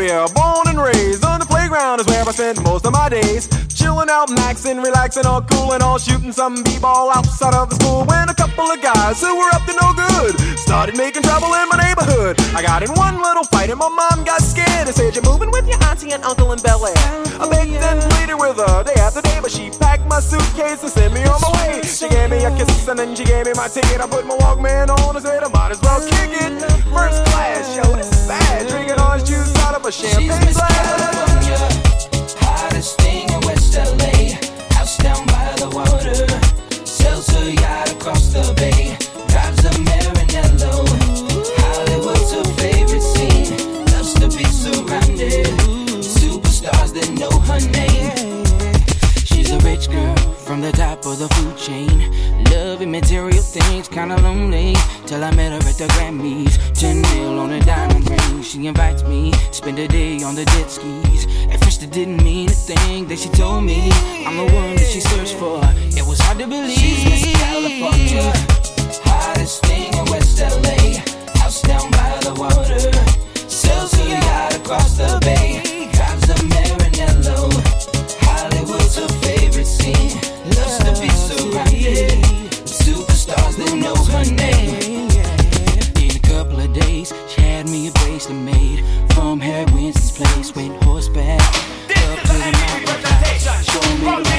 Philadelphia, born and raised. On the playground is where I spent most of my days. Chilling out, maxing, relaxing, all cool and all shooting some b-ball outside of the school. When a couple of guys who were up to no good started making trouble in my neighborhood. I got in one little fight and my mom got scared and said, "You're moving with your auntie and uncle in Bel Air." I begged and pleaded with her day after day, but she packed my suitcase and sent me on my way. She gave me a kiss and then she gave me my ticket. I put my Walkman on and said I might as well kick it. First class, yo, this is bad. Drinking orange juice out of a champagne glass. Hottest thing in West LA, house down by the water, sells her yacht across the bay, drives a Maranello. Hollywood's her favorite scene, loves to be surrounded, superstars that know her name. She's a rich girl from the top of the food chain, loving material things, kinda lonely, till I met her at the Grammys. 10 mil on a diamond ring, she invites me, spend a day on the jet skis. At first it didn't mean a thing, then she told me I'm the one that she searched for. It was hard to believe. She's Miss California, hottest thing in West LA, house down by the water, sells her yacht across the bay, drives a Maranello. Hollywood's her favorite scene, loves to be surrounded, superstars that know her name. In a couple of days, she had me a bracelet made from Harry Winston's place. Went horseback up to the mountain top, showing me the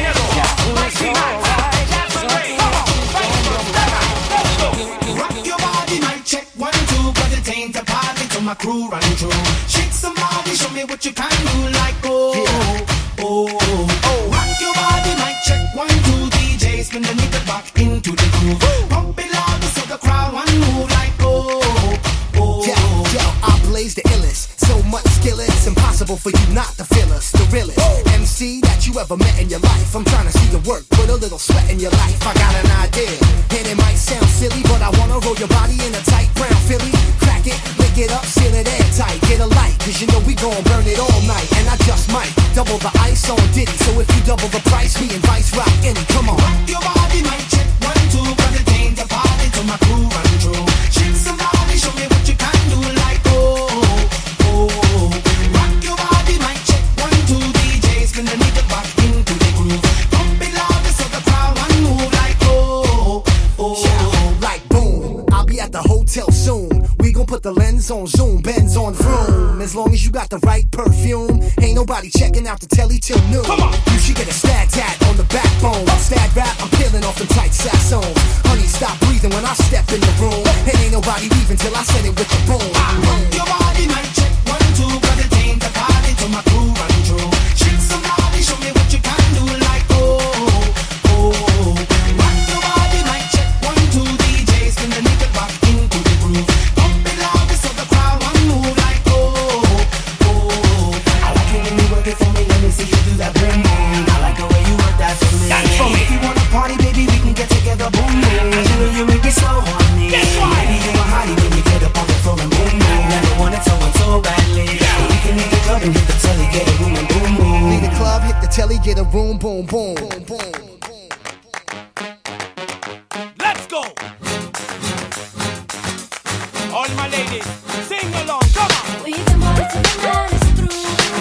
Rock your body, mic check 1, 2, but it ain't a party till my crew run through. Shake some body, show me what you can do, like Rock your body, mic check 1, 2, DJ, spin the nigga back into the groove. Pump it louder so the crowd want move, like Yo, I blaze the illest. So much skill, it's impossible for you not to feel us. The realest MC that you ever met in your life. I'm trying to see your work, put a little sweat in your life. I got an idea, and it might sound silly, but I wanna roll your body in a tight brown Philly. Crack it, lick it up, seal it airtight. Get a light, cause you know we gon' burn it all night. And I just might double the ice on Diddy. So if you double the price, me and Vice rock any. Come on. Rock your body, mic check 1, 2, but it ain't a party till my crew run through. Shake some body, show me what you can do, like Rock your body, mic check 1, 2, DJ, spin the nigga back into the groove. Pump it louder so the crowd want move, like like boom. I'll be at the hotel soon. We gon' put the lens on zoom, Benz on vroom. As long as you got the right perfume, ain't nobody checking out the telly till noon. Come on. You should get a stag tat on the backbone. Stag rap, I'm peeling off them tight sassoons. Honey, stop breathing when I step in the room. And ain't nobody leaving till I set it with the boom. Rock your body, mic check 1, 2, but it ain't a party till my crew run through. Shake some body, show me what you can do, like Rock your body, mic check 1, 2, DJ, spin the nigga back into the groove. Pump it louder so the crowd want move, like I like it when you work it for me, let me see you do that boom boom. I like the way you work that for me. If you wanna party, baby, we can get together, boom boom. You know you make it so horny. Maybe you a hottie when you get up on the floor and boom boom. Never wanted someone so badly. We can leave the club and hit the telly, get a room and boom boom. Leave the club, hit the telly, get a room, boom boom. Let's go! All my ladies, sing along, come on! We can party till the night is through.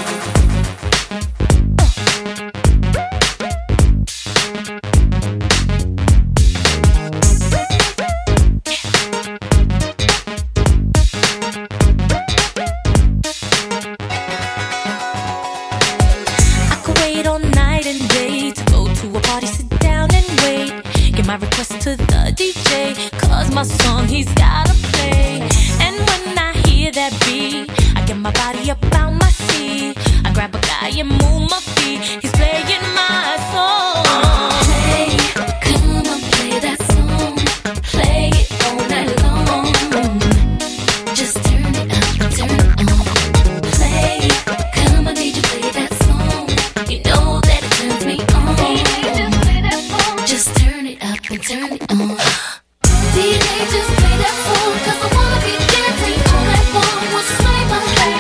I could wait all night and day to go to a party, sit down and wait. Get my request to the DJ, cause my song he's gotta play. And when I hear that beat, I get my body up out my seat. I grab a guy and move my feet. He's playing my song. Hey, come on, play that song. Play it all night long. Just turn it up and turn it on. Play, come on, DJ, play that song. You know that it turns me on. Just turn it up and turn it on. DJ, just play that song, cause I wanna be dancing all night long. What's play my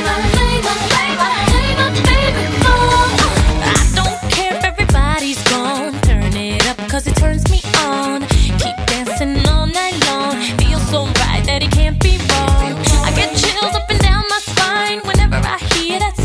favorite song. I don't care if everybody's gone. Turn it up cause it turns me on. Keep dancing all night long. Feels so right that it can't be wrong. I get chills up and down my spine whenever I hear that song.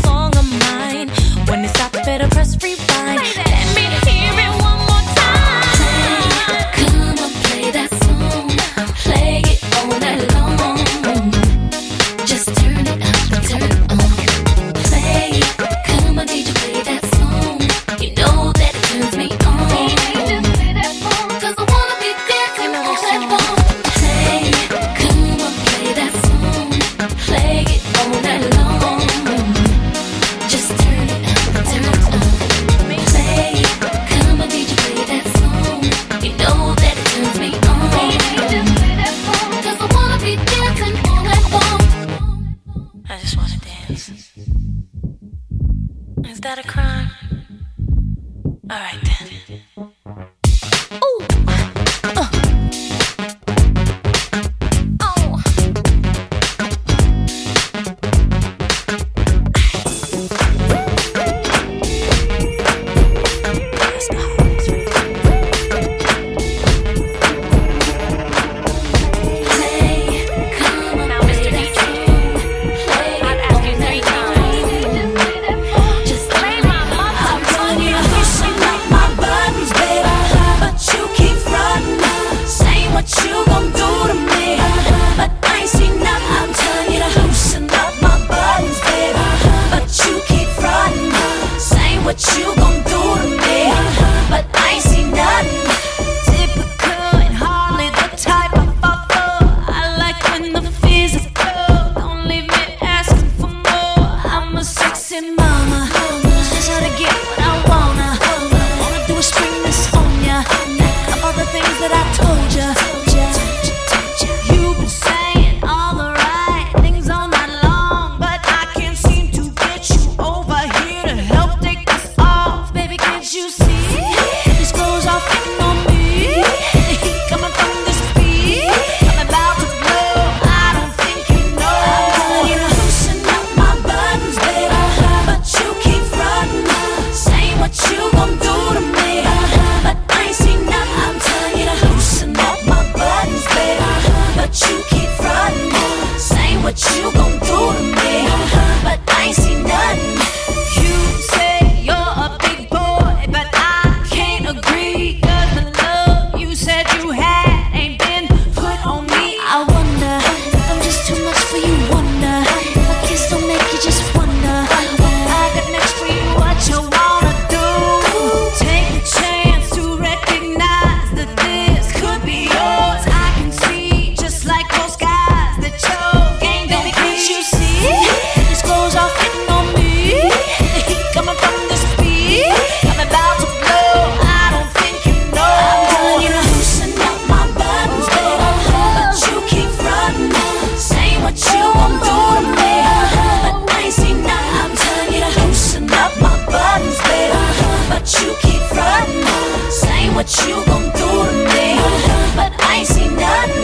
what you gon' do to me, but I ain't seen nothing.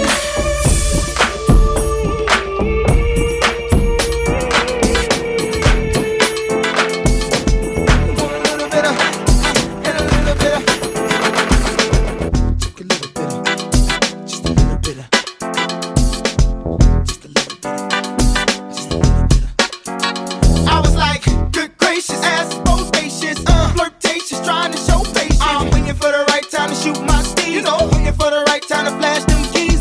Shoot my steed, you know, waiting for the right time to flash them keys.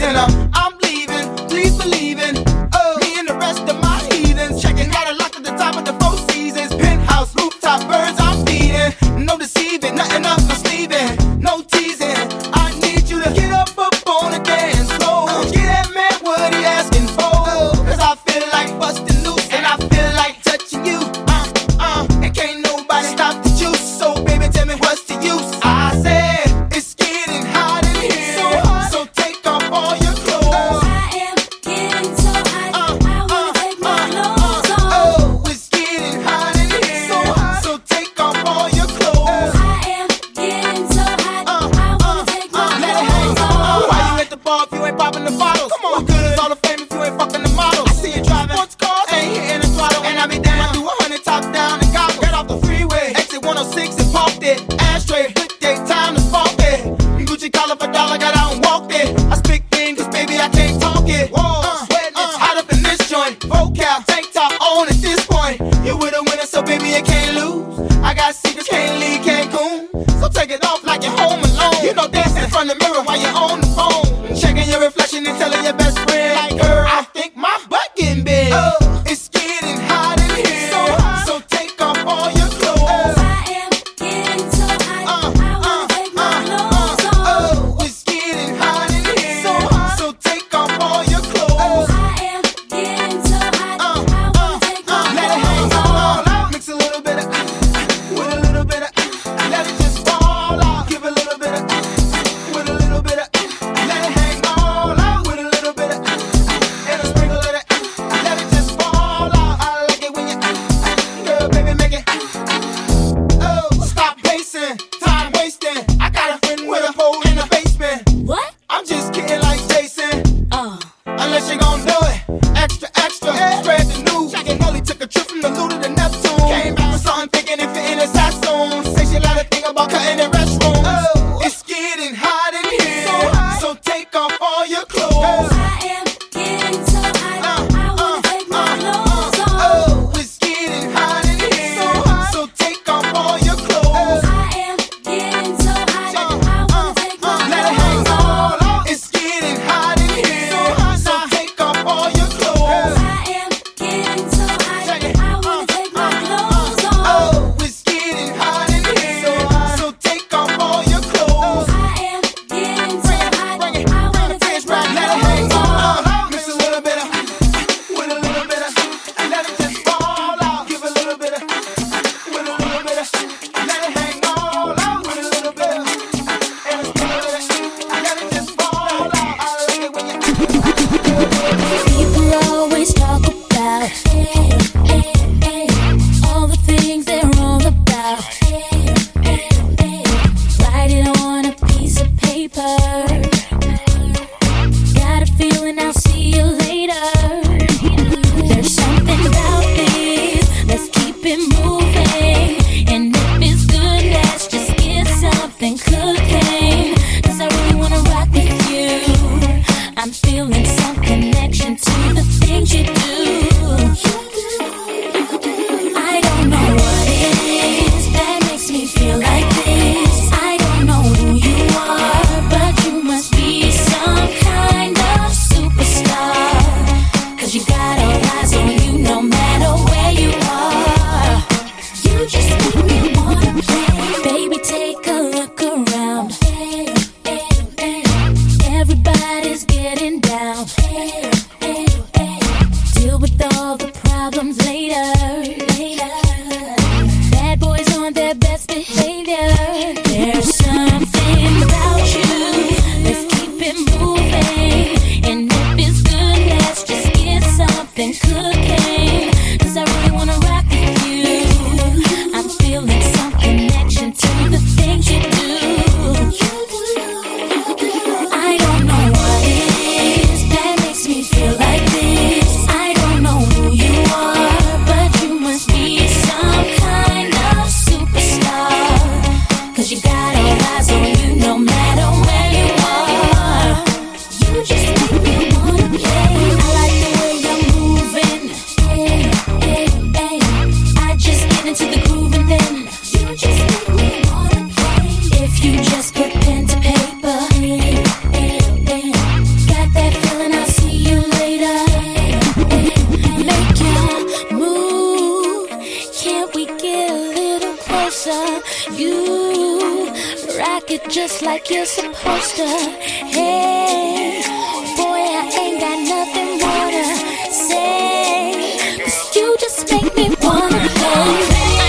just like you're supposed to. Hey, boy, I ain't got nothing more to say, 'cause you just make me wanna play.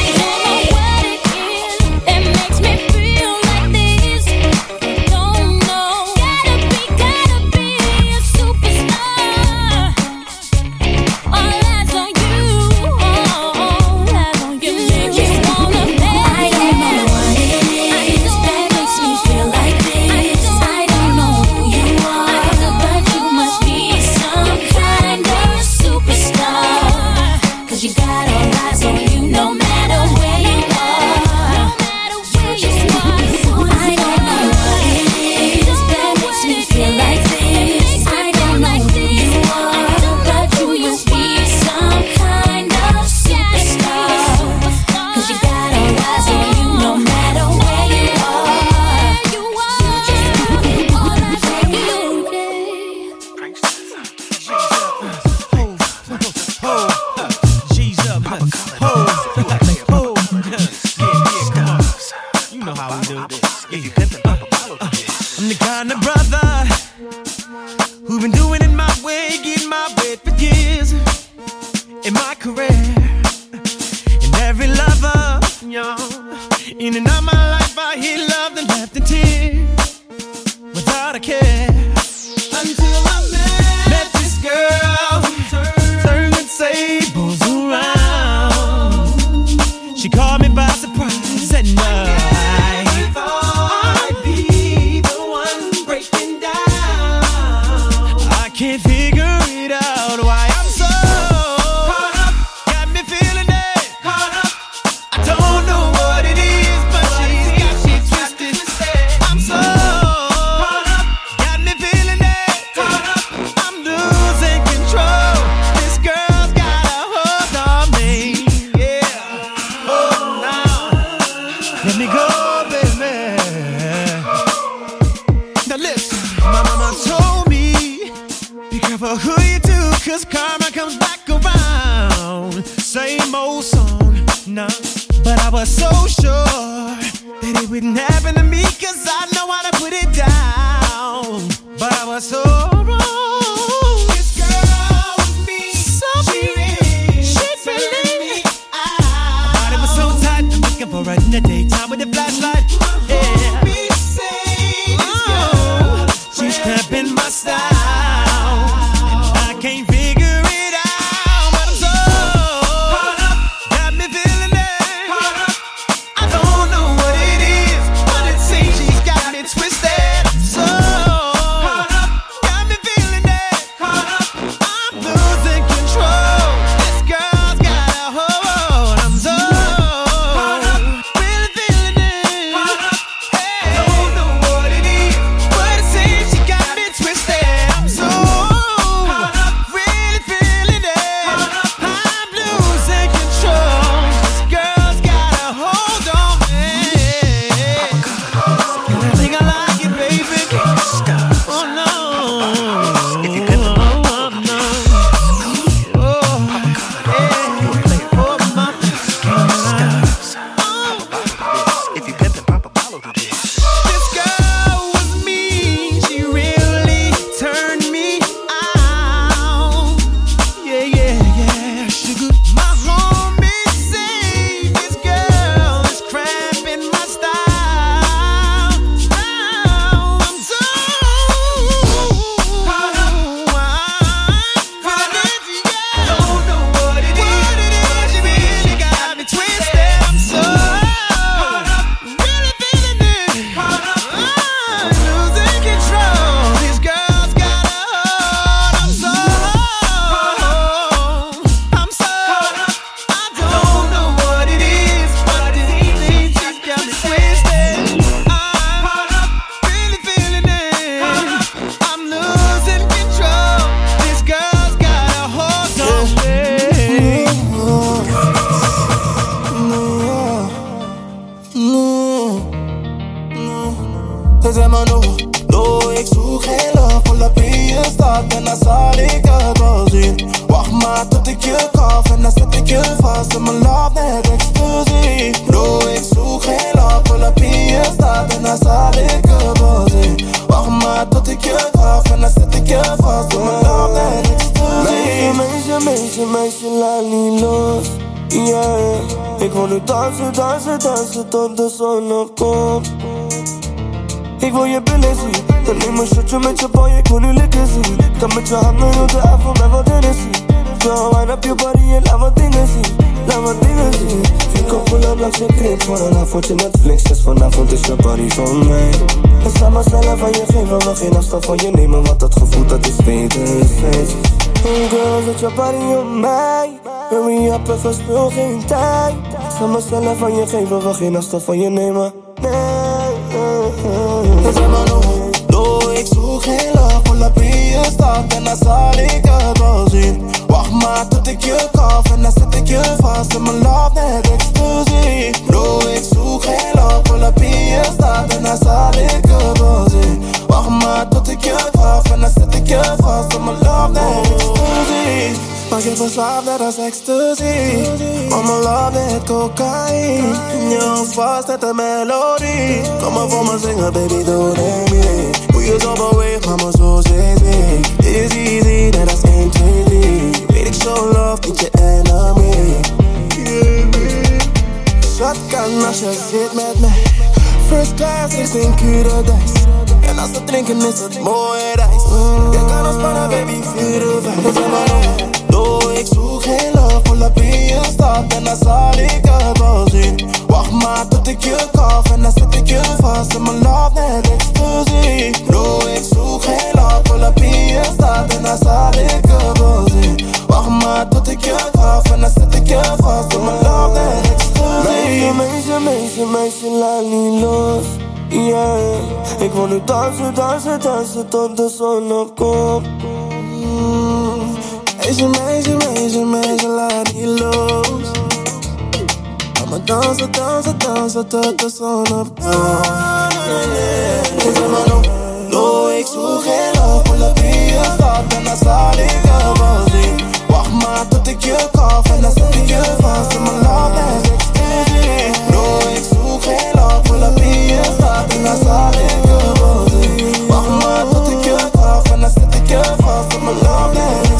I'm the kind of brother who been doing it my way, getting my bread for years in my career. And every lover, y'all, in and out my life, I hear love and laughed and tears without a care. Until I met this girl, turning tables around. She caught me by surprise at night. Can't figure it out why I'm so caught up. Got me feeling it. Caught up. I don't know what it is, but she's got me twisted. I'm so caught up. Got me feeling it. Caught up. I'm losing control. This girl's got a hold on me. Yeah. Oh, now let me go, baby. Now listen, my mama told me, be careful who you do, 'cause karma comes back around. Same old song, nah. But I was so sure that it wouldn't happen to me, 'cause I know how to put it down. But I was so wrong. This girl with me, so she really my body was so tight, I'm looking for her in the daytime with the flashlight. Yeah. She's cramping my style. Can't figure it out, but I'm so caught up. Got me feeling it. Caught up. I don't know what it is, but it seems she's got me twisted. So caught up. Got me feeling it. Caught up. I'm losing control. This girl's got a hold. I'm so caught up. Really feeling it. Caught up. Hey, I don't know what it is, but it seems she got me twisted. I'm so Bro, ik zoek geen love, pull up in je stad en dan zal ik Yeah, ik wil nu dansen, dansen, dansen tot de zon opkomt. Ik wil je billen zien, dan neem een shotje met je boy, ik wil nu lekker zien. Kan met je handen op de avond met wat dingen zien. Zo, wind up your body en laat wat dingen zien, laat wat dingen zien. Ik kom pull-up langs je crib voor een avondje Netflix. Dus vanavond is je body van mij. En samen snellen van je geven, we geen afstand van je nemen. Want dat gevoel dat is wederzijds. Girl, zet je body op mij. Hurry up en verspil geen tijd. Samen snellen van je geven, we geen afstand van je nemen. We zijn maar nog, ik zoek geen love. Pull up in je stad en dan zal ik het wel zien. Wacht maar tot ik je kaf en dan zet ik je vast. En mijn love net exclusief. Bro, ik zoek geen love. Pull up in je stad en dan zal ik het wel zien. Wacht maar tot ik je kaf en dan zet ik je vast. En mijn love net exclusief. Maar je verslaafd net als ecstasy. Maar mijn love net cocaïne. In je hoofd vast net een melodie. Kom maar voor me zingen, baby, doe het niet. Hoe je zo beweegt, maar me zo zee. Dit is easy, net als 1, 2, 3. Weet ik show love, niet je enemy. Shotgun als je zit met mij. First class is in Curadijs. En als we drinken is het mooie reis. Je kan ontspannen, baby, 4 uur 5. We zijn maar nog. Ik zoek geen love, pull up in je stad en dan zal ik het wel zien. Wacht maar tot ik je kaf en dan zet ik je vast. En mijn love net exclusief. Bro, ik zoek geen love, pull up in je stad en dan zal ik het wel zien. Wacht maar tot ik je kaf en dan zet ik je vast. En mijn love net exclusief. Meisje, laat niet los. Yeah, ik wil nu dansen, dansen, dansen tot de zon opkomt. Meisje, laat niet los. I'ma dansen, dansen, dansen tot de zon opkomt. We zijn maar nog, ik zoek geen love. Pull up in je stad en dan zal ik het wel zien. Wacht maar tot ik je kaf en dan zet ik je vast. En mijn love net exclusief. Bro, ik zoek geen love. Pull up in je stad en dan zal ik het wel zien. Wacht maar tot ik je kaf en dan zet ik je vast. En mijn love net exclusief.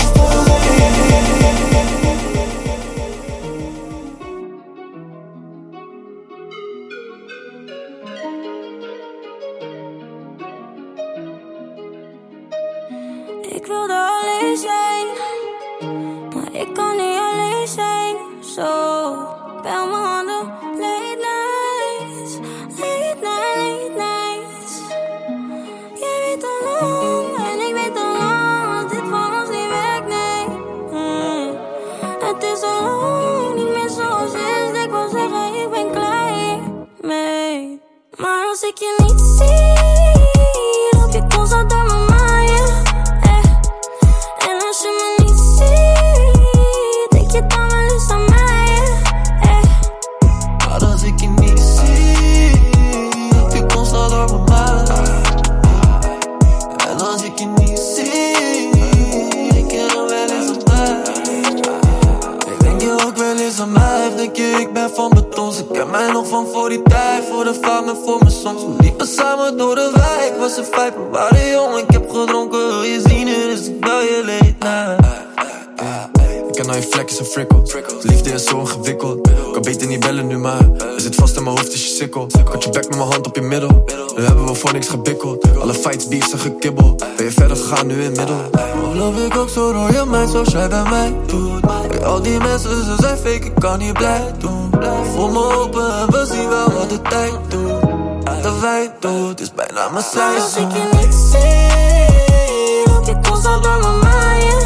Ik wilde alleen zijn, maar ik kan niet alleen zijn. Zo, bel mijn handen, late nights, late nights. Jij weet al lang en ik weet al lang dat dit van ons niet werkt, nee. Het is al lang niet meer zoals is. Ik wil zeggen, ik ben klaar hiermee. Maar als ik je niet zie, loop je constant door mijn mind. Als je me niet ziet, denk je dan wel eens aan mij, Maar als ik je niet zie, heb je constant door mijn mind. En als ik je niet zie, denk je dan wel eens aan mij. Ik denk je ook wel eens aan mij, of denk je ik ben van beton. Ze ken mij nog van voor die tijd, voor de fame en voor mijn songs. We liepen samen door de wijk, was een feit, we waren jong. Ik heb gedronken, wil je zien, dus ik bel je late night. Ik ken al je vlekjes en frikkel. Liefde is zo ingewikkeld. Kan beter niet bellen nu, maar er zit vast in mijn hoofd, is je sikkel. Ik had je bek met mijn hand op je middel. Nu hebben we voor niks gebikkeld. Alle fights, beefs en gekibbel. Ben je verder gegaan, nu in middel. Of love ik ook zo door je mind, zoals jij bij mij doet. Bij al die mensen, ze zijn fake, ik kan niet blij doen. Voel me open en we zien wel wat de tijd doet. De wij doet, is bijna mijn seizoen. Maar als ik je niet zie, loop je constant door mijn mind.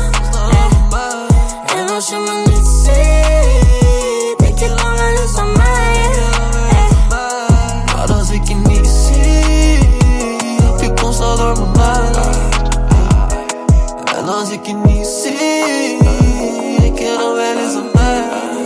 En als je me niet ziet, denk je dan wel eens aan mij. Maar als ik je niet zie, heb je constant door mijn mind. En als ik je niet zie, denk je dan wel eens aan mij.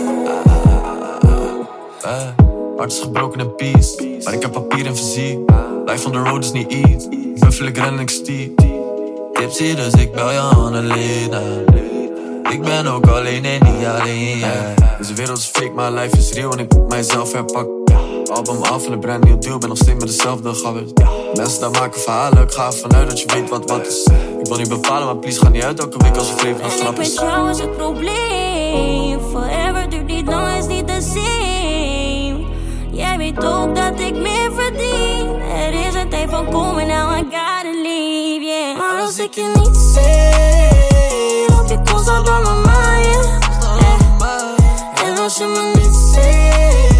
Hart is gebroken in peace, maar ik heb papier en fysiek. Life on the road is niet easy, buffel ik ren en ik stiep. Tipsy, dus ik bel je aan Alina. Ik ben ook alleen en niet alleen, yeah. Deze wereld is fake, maar life is real en ik moet mijzelf herpakken. album af en een brand nieuw deal. Ben nog steeds met dezelfde gabbers. Mensen daar maken verhalen, ik ga ervan uit dat je weet wat is. Ik wil niet bepalen, maar please ga niet uit elke week als we leven nog grap is. Met jou is het probleem. Forever duurt niet lang, is niet the same. Jij weet ook dat ik meer verdien. Er is een tijd van komen, now I gotta leave, yeah. Maar als ik je niet zie, loop je constant door mijn mind, yeah. En als je me niet ziet,